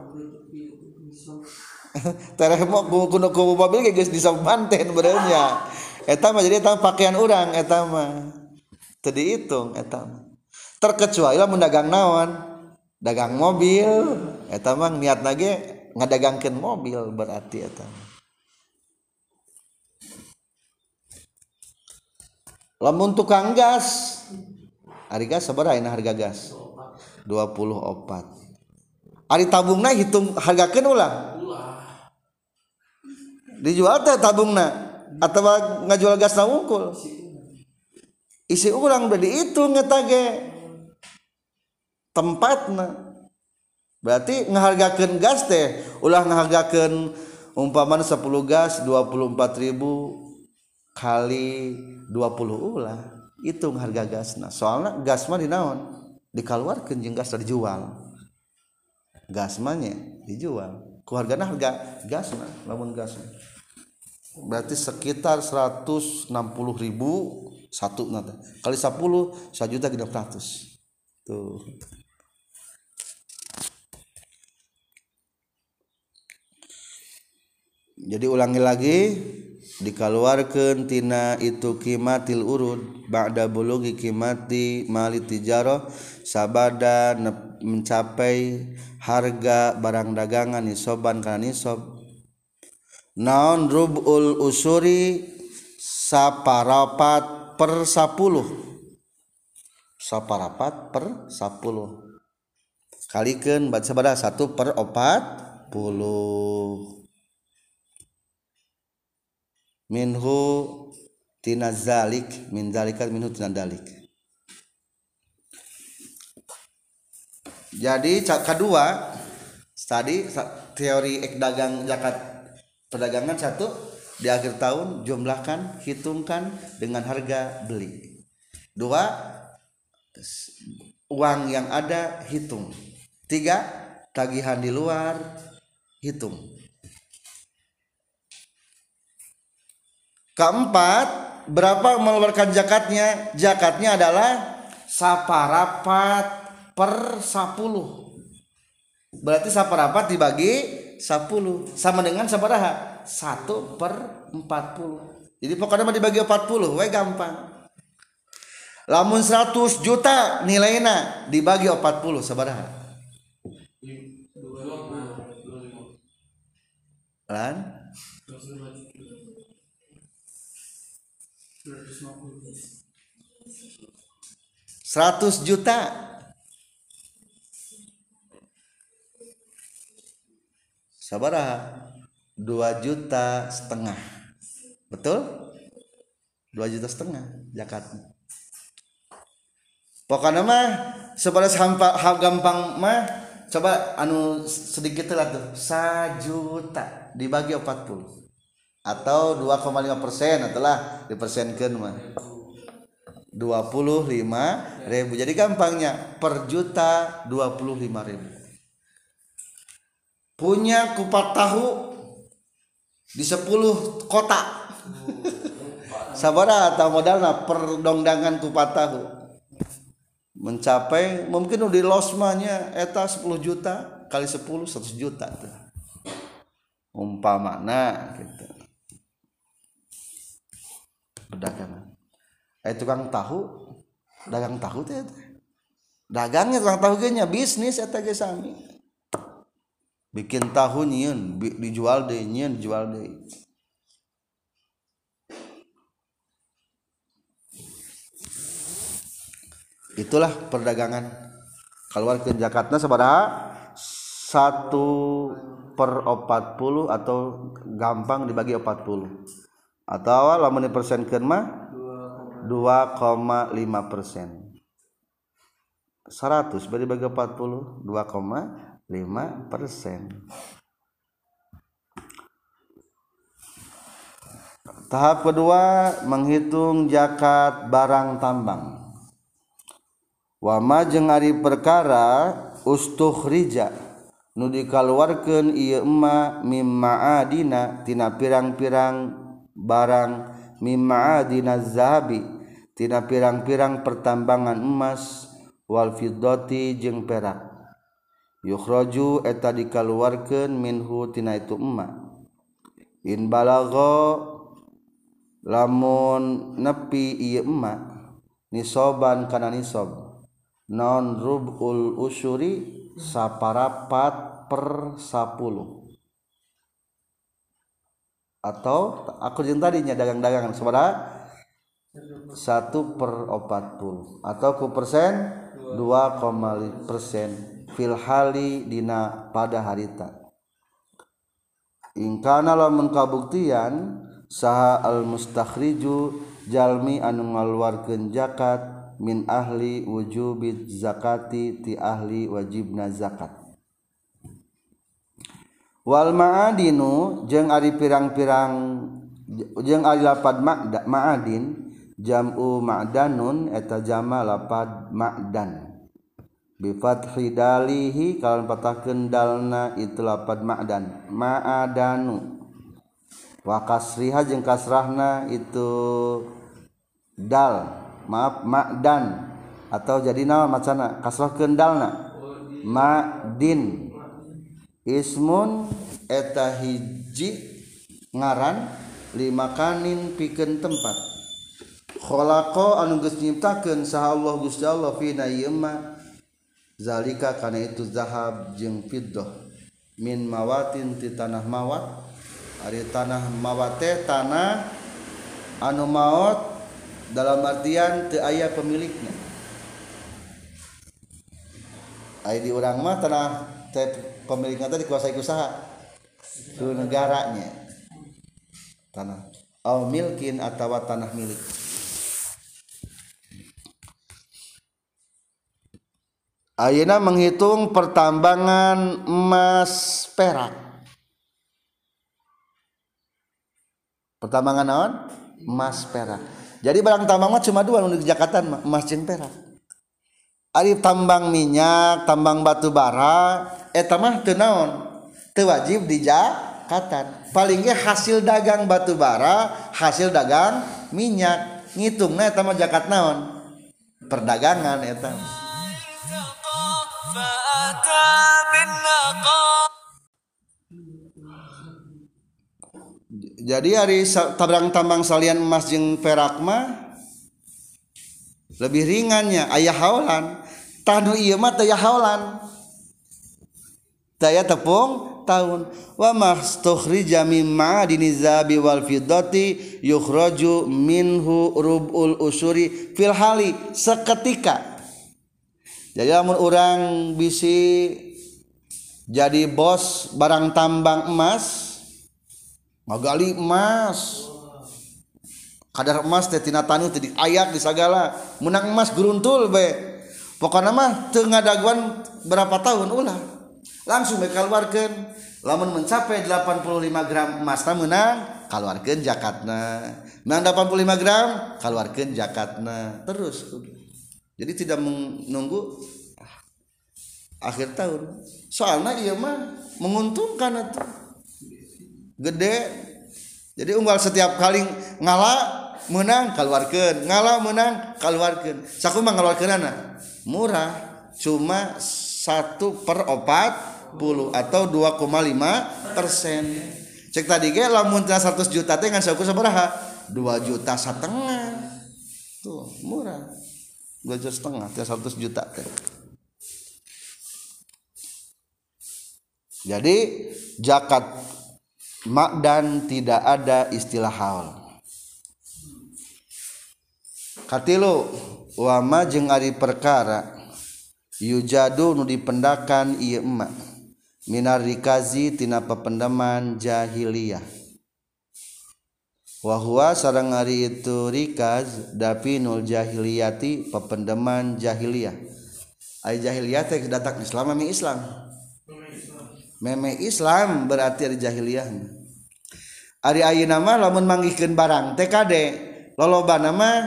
tereh mo kuno ku mobil ge geus disampanten benernya eta mah jadi eta pakaian urang eta mah teu dihitung eta mah terkecuali lamun dagang naon dagang mobil eta mah niatna ge ngadagangkeun mobil berarti eta lamun tukang gas ari gas sabaraha ayeuna harga gas dua puluh opat ari tabungna hitung hargakeun ulah dijual teh tabungna atawa ngajual gasna wungkul isi urang udah dihitung eta ge tempatna berarti ngahargakeun gas teh ulah ngahargakeun umpamana sepuluh gas dua puluh empat ribu kali dua puluh ulah hitung harga gasna soalna gas mah dinaon dikaluarkeun jeung gas dijual gas mah nya dijual ku hargana harga gasna lamun gasna berarti sekitar seratus enam puluh ribu satu nata kali sepuluh satu juta genep ratus tuh. Jadi ulangi lagi dikaluarkeun tina itu qimatil urud ba'da bulughi qimati mali tijarah sabada mencapai harga barang dagangan nisoban kana nisob naon rubul usuri saparapat per sepuluh saparapat per sepuluh kalikeun baca sabada satu per opat puluh minhu tina zalik min zalika minhu tina dalik. Jadi kedua tadi teori ek dagang zakat perdagangan satu di akhir tahun jumlahkan hitungkan dengan harga beli. Dua uang yang ada hitung. Tiga tagihan di luar hitung. Keempat berapa mengeluarkan zakatnya? Zakatnya adalah saparapat per sepuluh. Berarti saparapat dibagi sepuluh sama dengan sabaraha? satu per empat puluh. Jadi pokoknya mah dibagi empat puluh, we gampang. Lamun seratus juta nilainya dibagi empat puluh sabaraha? Lan seratus juta sabaraha? dua juta setengah. Betul? dua juta setengah zakatnya. Pokoknya mah sebatas hampa gampang mah coba anu sedikit lah tuh sajuta dibagi empat puluh atau dua koma lima persen atulah dipersenkeun mah dua puluh lima ribu. Jadi gampangnya per juta dua puluh lima ribu. Punya kupat tahu di sepuluh kota. Sabaraha atau modalna per dongdangan kupat tahu mencapai mungkin di losmanya eta sepuluh juta kali sepuluh seratus juta tuh. Umpamana gitu. Perdagangan. Eh tukang tahu, dagang tahu teh. Dagangnya tukang tahu ge nya bisnis eta ge sami. Bikin tahu nyieun, dijual deui, nyieun dijual deui. Itulah perdagangan. Keluarkeun zakatna sabaraha? satu per empat puluh atau gampang dibagi empat puluh. Atau lamun dipersenkeun mah dua koma lima persen. seratus bagi bagi empat puluh, dua koma lima persen. Tahap kedua menghitung zakat barang tambang. Wama jeung ari perkara ustukhrija nu dikaluarkeun ieu emma mimma adina tina pirang-pirang barang mimma adina zahabi tina pirang-pirang pertambangan emas wal fiddati jeung perak yukhraju eta dikaluarkeun minhu tina itu emma in balagha lamun nepi ieu emma nisoban kana nisab non rubul usyuri saparapat per sepuluh atau aku jeung tadinya dagang-dagangan sabaraha satu per empat puluh atau ku persen dua koma lima persen fil hali dina pada harita ingkana lamun kabuktian saha al mustakhriju jalmi anu ngaluarkeun zakat min ahli wujubid zakati ti ahli wajibna zakat wal ma'adinu jeung ari pirang-pirang jeung ari lapad ma'adin jam'u ma'danun eta jama lapad ma'dan bi fathi dalihi kalawan patahkeun dalna itu lapad ma'dan ma'adanu wa kasriha jeung kasrahna itu dal maaf ma'dan atau jadi naon macana kasrah kendalna ma'din ismun eta hiji ngaran limakanin pikeun tempat khalaqa anu geus nyiptakeun saha Allah Gusti Allah fina ieu ma zalika kana itu zahab jeung fiddah min mawatin ti tanah mawat ari tanah mawat teh tanah anu maot dalam artian teu aya pemiliknya. Aya di urang mah tanah teh pemilikna teh dikuasai ku saha? Ku negaranya. Tanah au milkin atawa tanah milik. Ayeuna menghitung pertambangan emas perak. Pertambangan naon? Emas perak. Jadi barang tambang mah cuma dua nu Jakatan emas jeung perak. Ari tambang minyak, tambang batu bara, eta mah teu naon? Teu wajib di Jakatan. Paling ge hasil dagang batu bara, hasil dagang minyak ngitungna eta mah zakat naon perdagangan eta jadi hari tabrang tambang salian emas jeung perak mah lebih ringannya aya haulan tanu ieu mah teu aya haulan daya tepung tahun wa mastukhrija min ma'adini zabi wal fiddati yukhraju minhu rubul usuri fil hali seketika. Jadi lamun urang bisi jadi bos barang tambang emas magali emas kadar emas teh tina tanu teh diayak di sagala menang emas guruntul be pokona mah teu ngadaguan berapa tahun ulah langsung bae kaluarkeun lamun mencapai delapan puluh lima gram emas teh meunang kaluarkeun zakatna meunang delapan puluh lima gram kaluarkeun zakatna terus jadi tidak menunggu akhir tahun soalnya ieu mah menguntungkan atuh gede jadi unggal setiap kali ngalah menang keluarkan ngalah menang keluarkan sakumaha ngaluarkeunana murah cuma satu per opat puluh atau dua koma lima persen cek tadi ge lamun seratus juta teh ngan saku sabaraha dua juta setengah tuh murah dua juta setengah teh seratus juta teh jadi zakat makdan tidak ada istilah haul katilu wama jeung ari perkara yujadu nu dipendakan ieu emak minar rikazi tina pependeman jahiliyah wa huwa sareng ari itu rikaz dapinul jahiliyati pependeman jahiliyah ai jahiliyah teh datang Islam ame Islam meme Islam berarti ari jahiliyah ari ayeuna mah lamun manggihkeun barang teh kade lolobana mah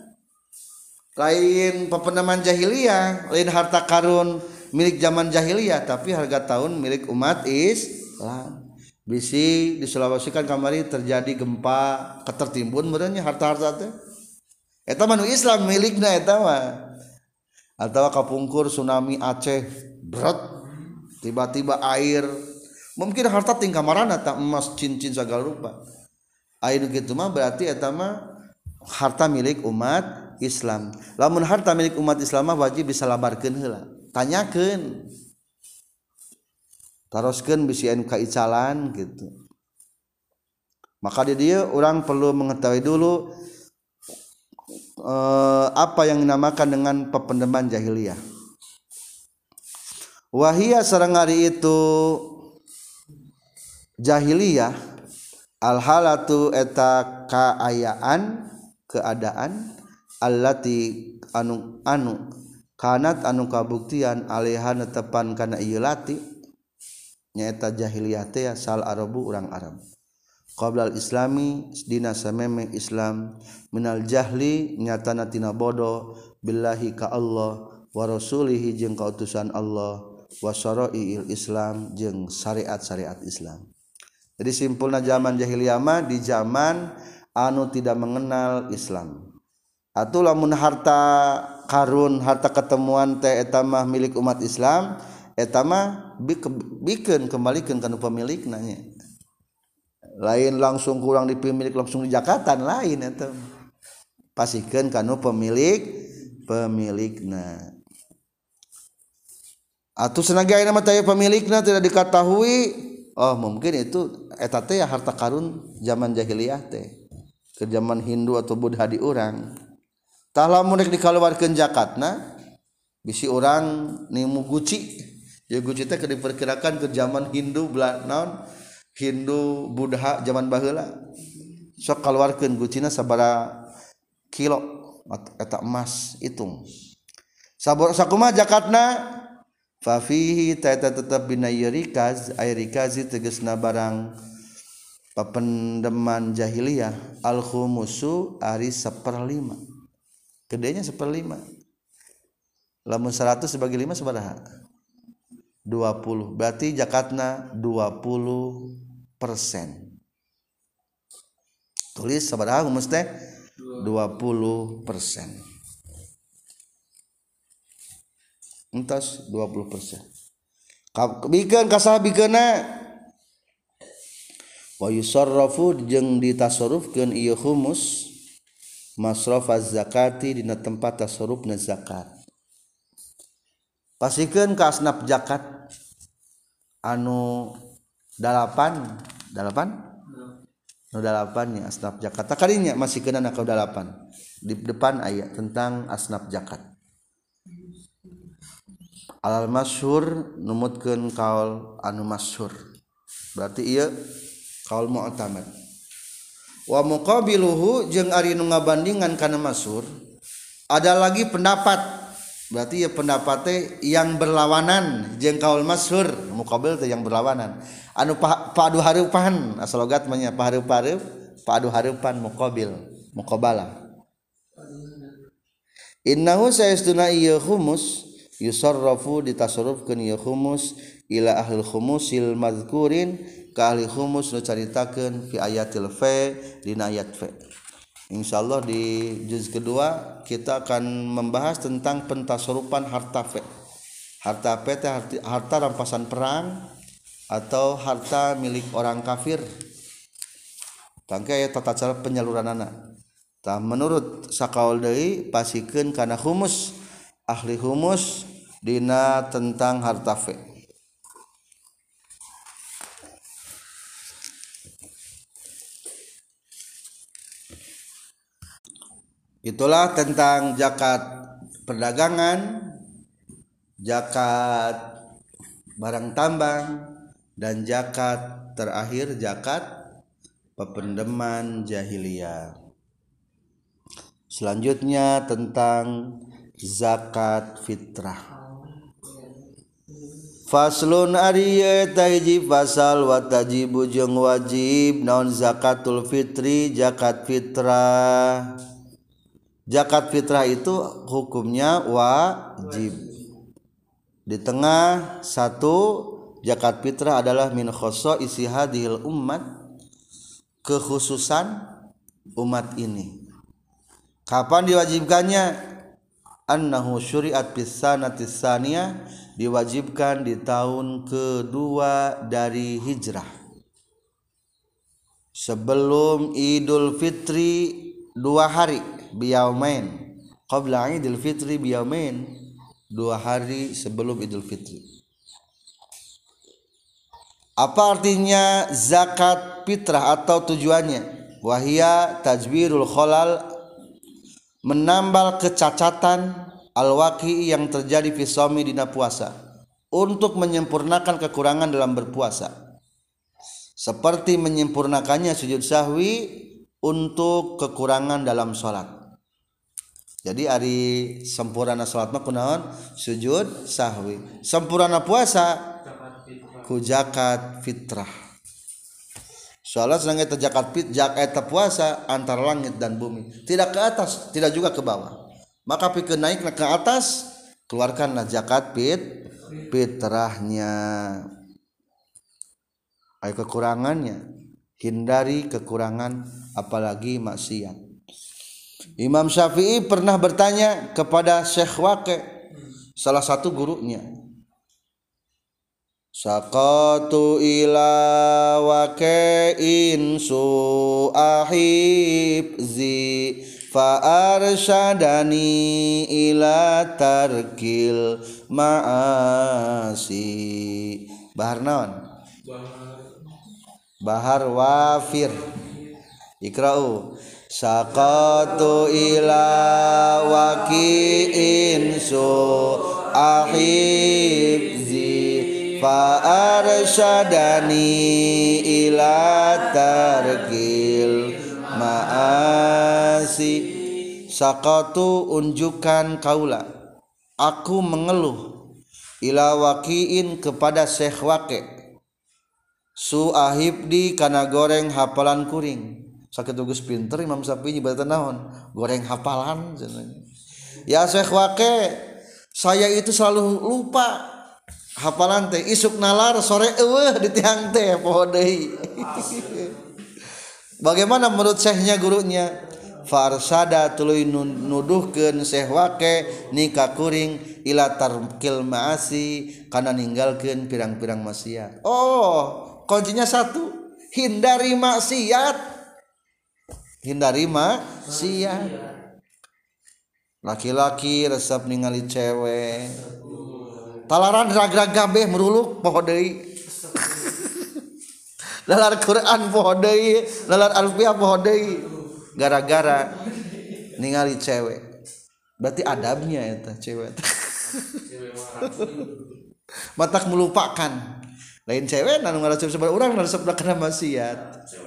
lain pependeman jahiliyah lain harta karun milik zaman jahiliyah tapi harga tahun milik umat Islam bisi di Sulawesi kan kamari terjadi gempa ketertimbun meureunnya harta-harta teh eta mah nu Islam milikna eta mah atawa kapungkur tsunami Aceh berat tiba-tiba air mungkin harta tingkah marana tak emas cincin segala rupa air gitu mah berarti eta mah harta milik umat Islam lamun harta milik umat Islam mah wajib disalabarkeun heula tanyakeun taroskeun bisi anu kaicalan gitu maka di dieu orang perlu mengetahui dulu eh, apa yang dinamakan dengan pependeman jahiliyah wahia sareng ari itu jahiliyah al halatu eta kaayaan keadaan allati anu anu kanat anu kabuktian alaiha netepan kana ieu lati nyaeta jahiliyah teh sal arabu urang Arab qabla al islami dina sameme Islam minal jahli nyatana tina bodoh billahi ka Allah wa rasulihi jeung ka utusan Allah wa syara'iil Islam jeung syariat-syariat Islam. Jadi simpulna zaman jahiliyah mah di zaman anu tidak mengenal Islam. Atuh lamun harta karun, harta ketemuan teh eta mah milik umat Islam, eta mah bikeun kembalikeun kana pemilikna nya. Lain langsung kurang dipemilik langsung di zakatan lain eta. Pasikeun kana pemilik pemilikna. Atau senaga ayeuna mah taya pemilikna tidak diketahui oh mungkin itu eta teh ya harta karun zaman jahiliyah teh ke zaman Hindu atau Buddha di urang tah lamun rek dikaluarkeun zakatna bisi urang nimu guci ya guci teh diperkirakan ke zaman Hindu naon Hindu Buddha zaman baheula sok kaluarkeun gucina sabaraha kilo eta emas hitung sabor sakumaha zakatna fa fihi ta tetep bina rikaz ay rikazi tegasna barang papendeman jahiliyah al khumusu ari seperlima gedenya seperlima lamun seratus sebagai lima sabaraha dua puluh berarti zakatna dua puluh persen tulis sabaraha humus teh dua puluh persen. Entas dua puluh persen. Bikeun kasah bikeuna wa yusarrafu jeung ditasarrufkeun ieu humus masrafaz zakati dina tempat tasarrufna zakat. Pasikeun ka asnaf zakat anu dalapan dalapan nu dalapan nya asnaf zakat takadinya masih kena na ka dalapan di depan aya tentang asnaf zakat. Alal masyhur numutkeun kaul anu masyhur berarti ieu kaul mu'tamad. Wa muqabiluhu jeung ari nu ngabandingan kana masyhur ada lagi pendapat berarti ya pendapat teh yang berlawanan jeung kaul masyhur. Muqabil teh yang berlawanan anu padu hareupan asal logat mah nya pahareup-hareup padu hareupan muqabil muqabalah. Innahu sayastuna ieu humus yusarrafu ditasarrufkeun ieu humus ila ahli khumusil mazkurin ka ahli humus nu caritakeun fi ayatil fa dina ayat fa. Insyaallah di juz kedua kita akan membahas tentang pentasarupan harta fe. Harta fe teh harta rampasan perang atau harta milik orang kafir. Tangke aya tata cara penyaluranana. Tah menurut sakaul deui pasikeun kana humus ahli humus dina tentang harta fe. Itulah tentang zakat perdagangan, zakat barang tambang, dan zakat terakhir zakat pependeman jahiliyah. Selanjutnya tentang zakat fitrah. Faslun ariye tajib fasal wa tajibu jeung wajib naon zakatul fitri zakat fitrah. Zakat fitrah itu hukumnya wajib. Di tengah satu zakat fitrah adalah min khosa'isi hadhil ummat, kekhususan umat ini. Kapan diwajibkannya? Annahu syuri'at fis sanati tsaniyah, diwajibkan di tahun kedua dari hijrah. Sebelum Idul Fitri dua hari biyaumain qabla Idul Fitri biyaumain, dua hari sebelum Idul Fitri. Apa artinya zakat fitrah atau tujuannya? Wahia tajbirul khalal, menambal kecacatan al-waqi yang terjadi fi shaumi dina puasa, untuk menyempurnakan kekurangan dalam berpuasa, seperti menyempurnakannya sujud sahwi untuk kekurangan dalam sholat. Jadi ari sempurna salat mah kunaon? Sujud sahwi. Sempurna puasa ku zakat fitrah. Salat sedang eta zakat fit zakat eta puasa antara langit dan bumi, tidak ke atas, tidak juga ke bawah. Maka pikeun naik ke atas, keluarkanlah zakat fit fitrahnya. Ai kekurangannya, hindari kekurangan apalagi maksiat. Imam Syafi'i pernah bertanya kepada Syekh Waqi', salah satu gurunya. Saqatu ila waqi'in su'ahibzi fa arsyadani ila tarkil ma'asi. Bahar naon? Bahar wafir. Ikra'u. Saqatu ila waqi'in su'ahibzi fa arsyadani ila tarkil ma'asi. Saqatu unjukkan kaula, aku mengeluh, ila waqi'in kepada Syekh Waqi', su'ahibdi kana goreng hafalan kuring. Sakitu geus pinter Imam Syafi'i nyebatan naon? Goreng hafalan. Ya Syekh Waqi', saya itu selalu lupa hafalan teh, isuk nalar sore eueuh di tiang teh poho deui. Bagaimana menurut syekhnya gurunya? farsada tuluy nuduhkeun sehwake nikah kuring ila tarkil maasi kana ninggalkeun pirang-pirang maksiat. Oh, kuncinya satu, hindari maksiat. Hindari maksiat. Laki-laki resep ningali cewek. Talaran ragrag gabeh meruluk poho deui. Lalar Quran poho deui, lalar alfiah poho deui. Gara-gara ningali cewek. Berarti adabnya eta cewek. Matak melupakan. Lain cewek nanu ngaresep sabaraha urang ngaresep kana maksiat.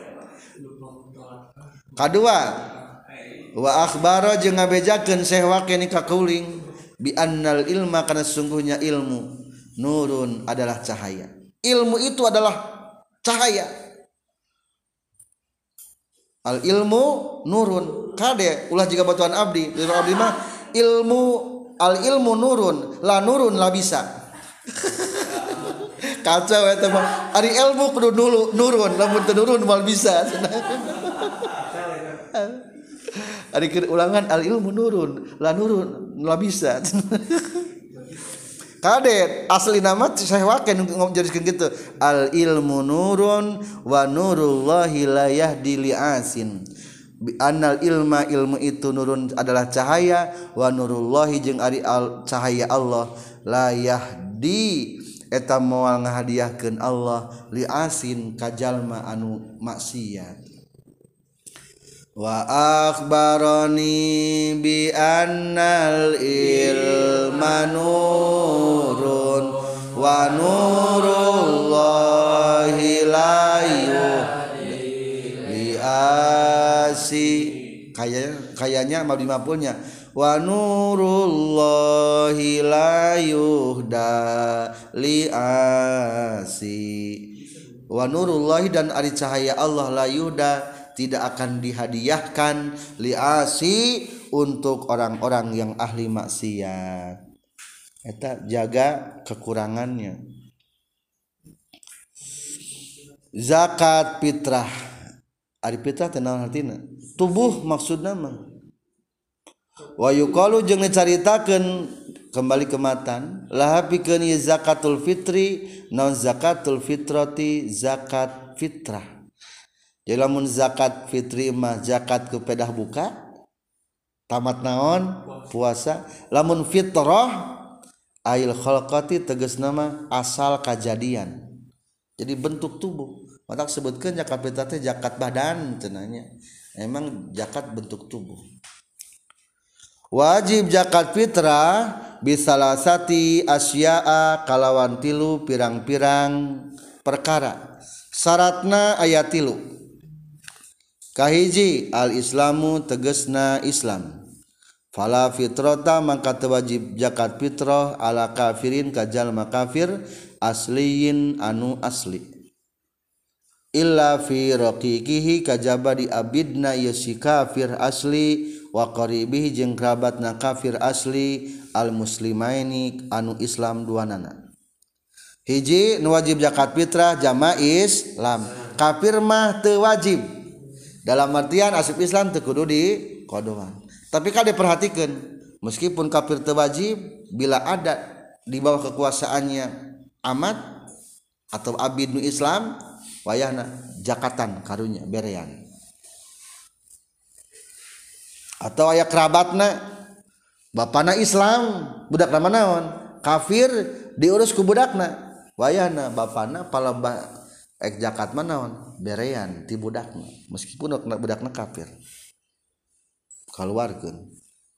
Kadua, wa akhbaro jeung ngabejakeun sehwake nikah kuling bi annal ilma kana sungguhnya ilmu nurun adalah cahaya. Ilmu itu adalah cahaya. Al ilmu nurun. Kade ulah jiga batuan abdi, abdi mah ilmu al ilmu nurun, la nurun la bisa. Kacau eta mah. Ari ilmu kudu dulu nurun, lamun teu nurun moal bisa. Ari ulangan al ilmu nurun, la nurun la bisa. Kadet asli nama saya wae ngomongkeun kitu. Al ilmu nurun wa nurullahi la yahdi li asin. Bi annal ilma ilmu itu nurun adalah cahaya wa nurullahi jeung ari al cahaya Allah la yahdi eta moal ngahadiahkeun Allah li asin ka jalma anu maksiat. Wa akhbarani bi annal ilma nurun wa nurullahi la yuhdi asi kayaknya kayaknya mabdi mapulnya wa nurullahi la yuhda li asi wa nurullahi dan ari cahaya Allah la yuhda tidak akan dihadiahkan liasi untuk orang-orang yang ahli maksiat. Eta jaga kekurangannya. Zakat fitrah. Ari fitrah teh naon artina? Tubuh maksudna mah. Wa yuqalu jeung dicaritakeun kembali ke matan laha pikeun zakatul fitri naon zakatul fitrati zakat fitrah. Jadi lamun zakat fitri mah zakat ke pedah buka tamat naon puasa. Lamun fitrah ail khalqati tegasna mah asal kajadian. Jadi bentuk tubuh. Mata sebutkeun zakat fitrah teh zakat badan cenanya. Emang zakat bentuk tubuh. Wajib zakat fitrah bisalasati asya'a kalawan tilu pirang-pirang perkara. Syaratna aya tilu. Kahiji al-islamu tegesna Islam. Fala fitrata mangka teu wajib zakat fitrah ala kafirin ka jalma kafir asliyin anu asli. Illa fi raqiqihi kajaba di abidna ieu si kafir asli wa qaribihi jeung kerabatna kafir asli al muslimaini anu Islam duanana. Hiji nu wajib zakat fitrah jama Islam. Kafir mah teu wajib. Dalam artian asib Islam teu kudu di qodoan. Tapi kan diperhatikan meskipun kafir teu wajib bila ada di bawah kekuasaannya amat atau abid nu Islam wayahna zakatan karunya berean. Atau aya kerabatna bapana Islam budak nama naon kafir diurus ku budakna wayahna bapana palembah ek zakat mah naon berean ti budakna meskipun budakna kafir kaluarkeun.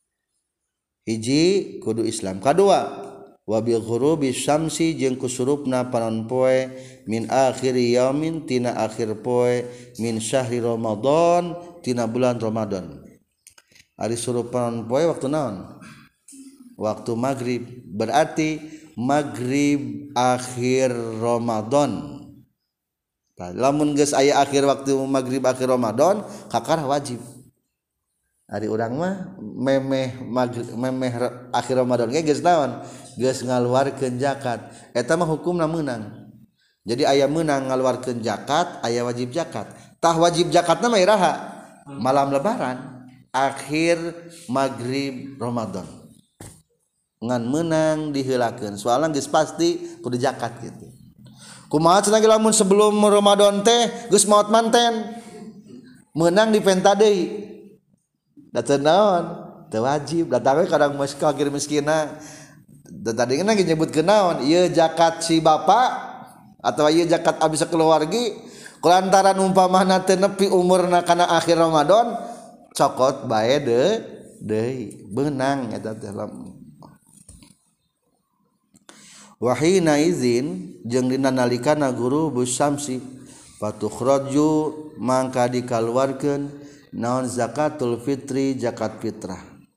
Hiji kudu Islam. Kadua wa bi ghurubi syamsi jeung kusurupna panon poe min akhir yaumin tina akhir poe min syahri Ramadan tina bulan Ramadan. Ari surup panon poe waktu naon? Waktu maghrib. Berarti maghrib akhir Ramadan. Lamun geus aya akhir waktu maghrib akhir Ramadan kakar wajib. Ari urang mah memeh maghrib memeh akhir Ramadan ge geus naon? Geus ngaluarkeun zakat. Eta mah hukumna meunang. Jadi aya meunang ngaluarkeun zakat, aya wajib zakat. Tah wajib zakatna mah iraha? Malam lebaran. akhir maghrib Ramadan ngan menang diheulakeun soalna geus pasti kudu zakat gitu. Kumaha cenah lamun sebelum Ramadan teh geus maot manten menang dipenta deui da teu naon teu wajib datang we kadang mos fakir miskina tadi kan lagi nyebutkeun naon ieu zakat si bapa atawa ieu zakat abdi sakeluargi kulantaran umpamana teu nepi umurna kana akhir Ramadan cokot bae de deui beunang eta teh wahina izin jeung dina nalikana guru busamsi fatukhraju mangka dikaluarkeun naon zakatul fitri zakat fitrah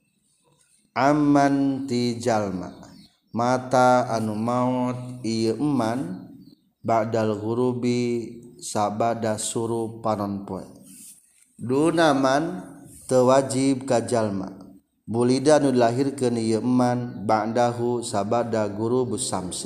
amman ti jalma mata anu maut ieu eman ba'dal ghurubi sabada surup panon poe dunaman teu wajib ka jalma bulida anu dilahirkeun ieu eman ba'dahu sabada ghurubus samsi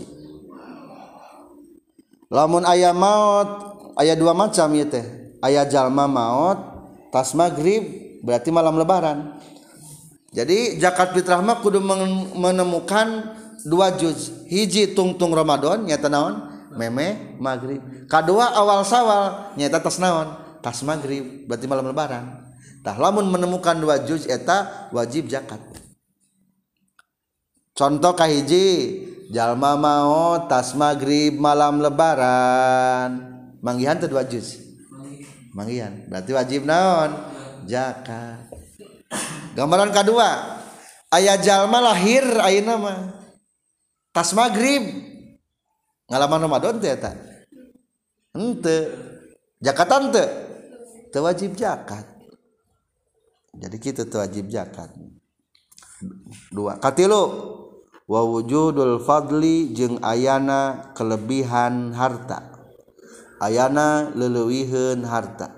lamun aya maut aya dua macam ieu teh aya jalma maut pas maghrib berarti malam lebaran. Jadi zakat fitrah mah kudu menemukan dua juz. Hiji tungtung Ramadan nyata naon? Meme maghrib. Kadua awal Sawal nyata tas naon? Tas maghrib berarti malam lebaran. Tah lamun menemukan dua juz eta wajib zakat. Contoh kahiji jalma maot tas maghrib malam lebaran. Manggihan teh dua juz. Manggihan berarti wajib naon zakat. Gambaran kedua aya jalma lahir ayeuna mah tas maghrib ngalaman Ramadan teh eta henteu zakatan teu teu wajib zakat jadi kitu teu wajib zakat. Dua katilu wa wujudul fadli jeung ayana kelebihan harta ayana leuleuyieun harta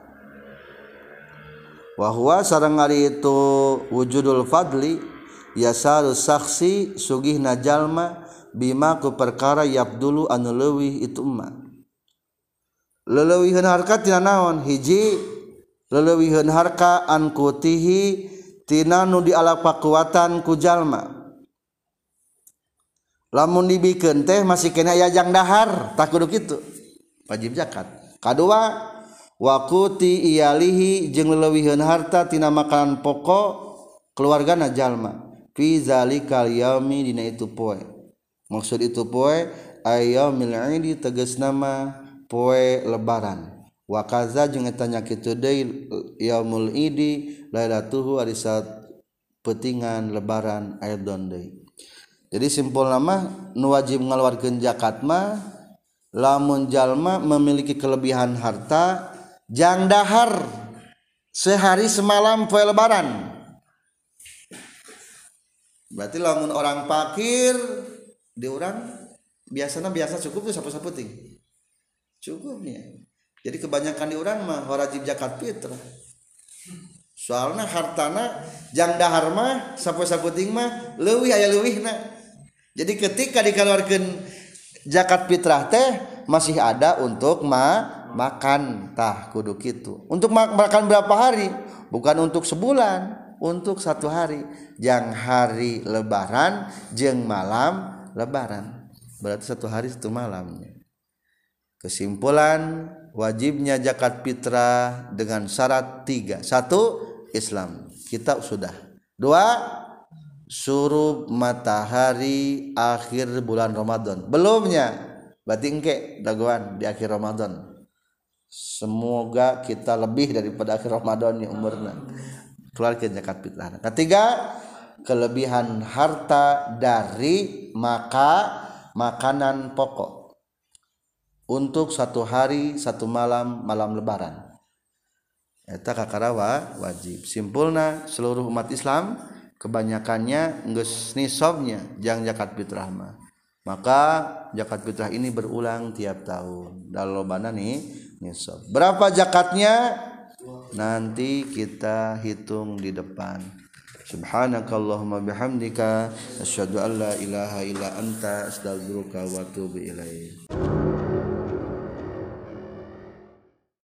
wa huwa sareng ari itu wujudul fadli yasaru saksi sugihna jalma bima ku perkara yabdulu anu leuwih itu emma leuleuyieun harta tina naon hiji leuleuyieun harta an kutihi tina nu dialapakuatan ku jalma lamun dibikeun teh masih kena aya jang dahar tak kudu kitu wajib zakat. Kadua waquti iyalihi jeung leuwihkeun harta tina makanan pokok keluargana jalma fi zalikal yaumi dina itu poe. Maksud itu poe ayyamil idi tegasna mah poe lebaran. Wa kaza jeung eta nya kitu deui yaumul idi lailatuhu ari saat peutingan lebaran aidon deui. Jadi simpulna mah nu wajib ngaluarkeun zakat mah lamun jalma memiliki kelebihan harta jang dahar sehari semalam poe lebaran berarti lamun orang fakir di urang biasanya biasa cukup tuh sapu-sapu ting cukupnya jadi kebanyakan di urang mah wajib zakat fitrah soalna hartana jang dahar mah sapu-sapu ting mah leuwih aya leuwihna jadi ketika dikeluarkeun zakat fitrah teh masih ada untuk ma makan tah kudu kitu untuk ma makan berapa hari bukan untuk sebulan untuk satu hari jang hari lebaran jeung malam lebaran berarti satu hari satu malamnya. Kesimpulan wajibnya zakat fitrah dengan syarat tiga. Satu Islam kita sudah. Dua surub matahari akhir bulan Ramadan. Belumnya berarti engke dagoan di akhir Ramadan. Semoga kita lebih daripada akhir Ramadan ya umurna. Keluarkan zakat fitrah. Ketiga, kelebihan harta dari maka makanan pokok untuk satu hari satu malam malam lebaran. Eta kakarawa wajib. Simpulna seluruh umat Islam kebanyakannya geus nisabnya jang zakat fitrah mah. Maka zakat fitrah ini berulang tiap tahun. Dalobana nih nisab. Berapa zakatnya? Nanti kita hitung di depan. Subhanakallahumma bihamdika asyhadu an la ilaha illa anta astaghfiruka wa atubu ilaik.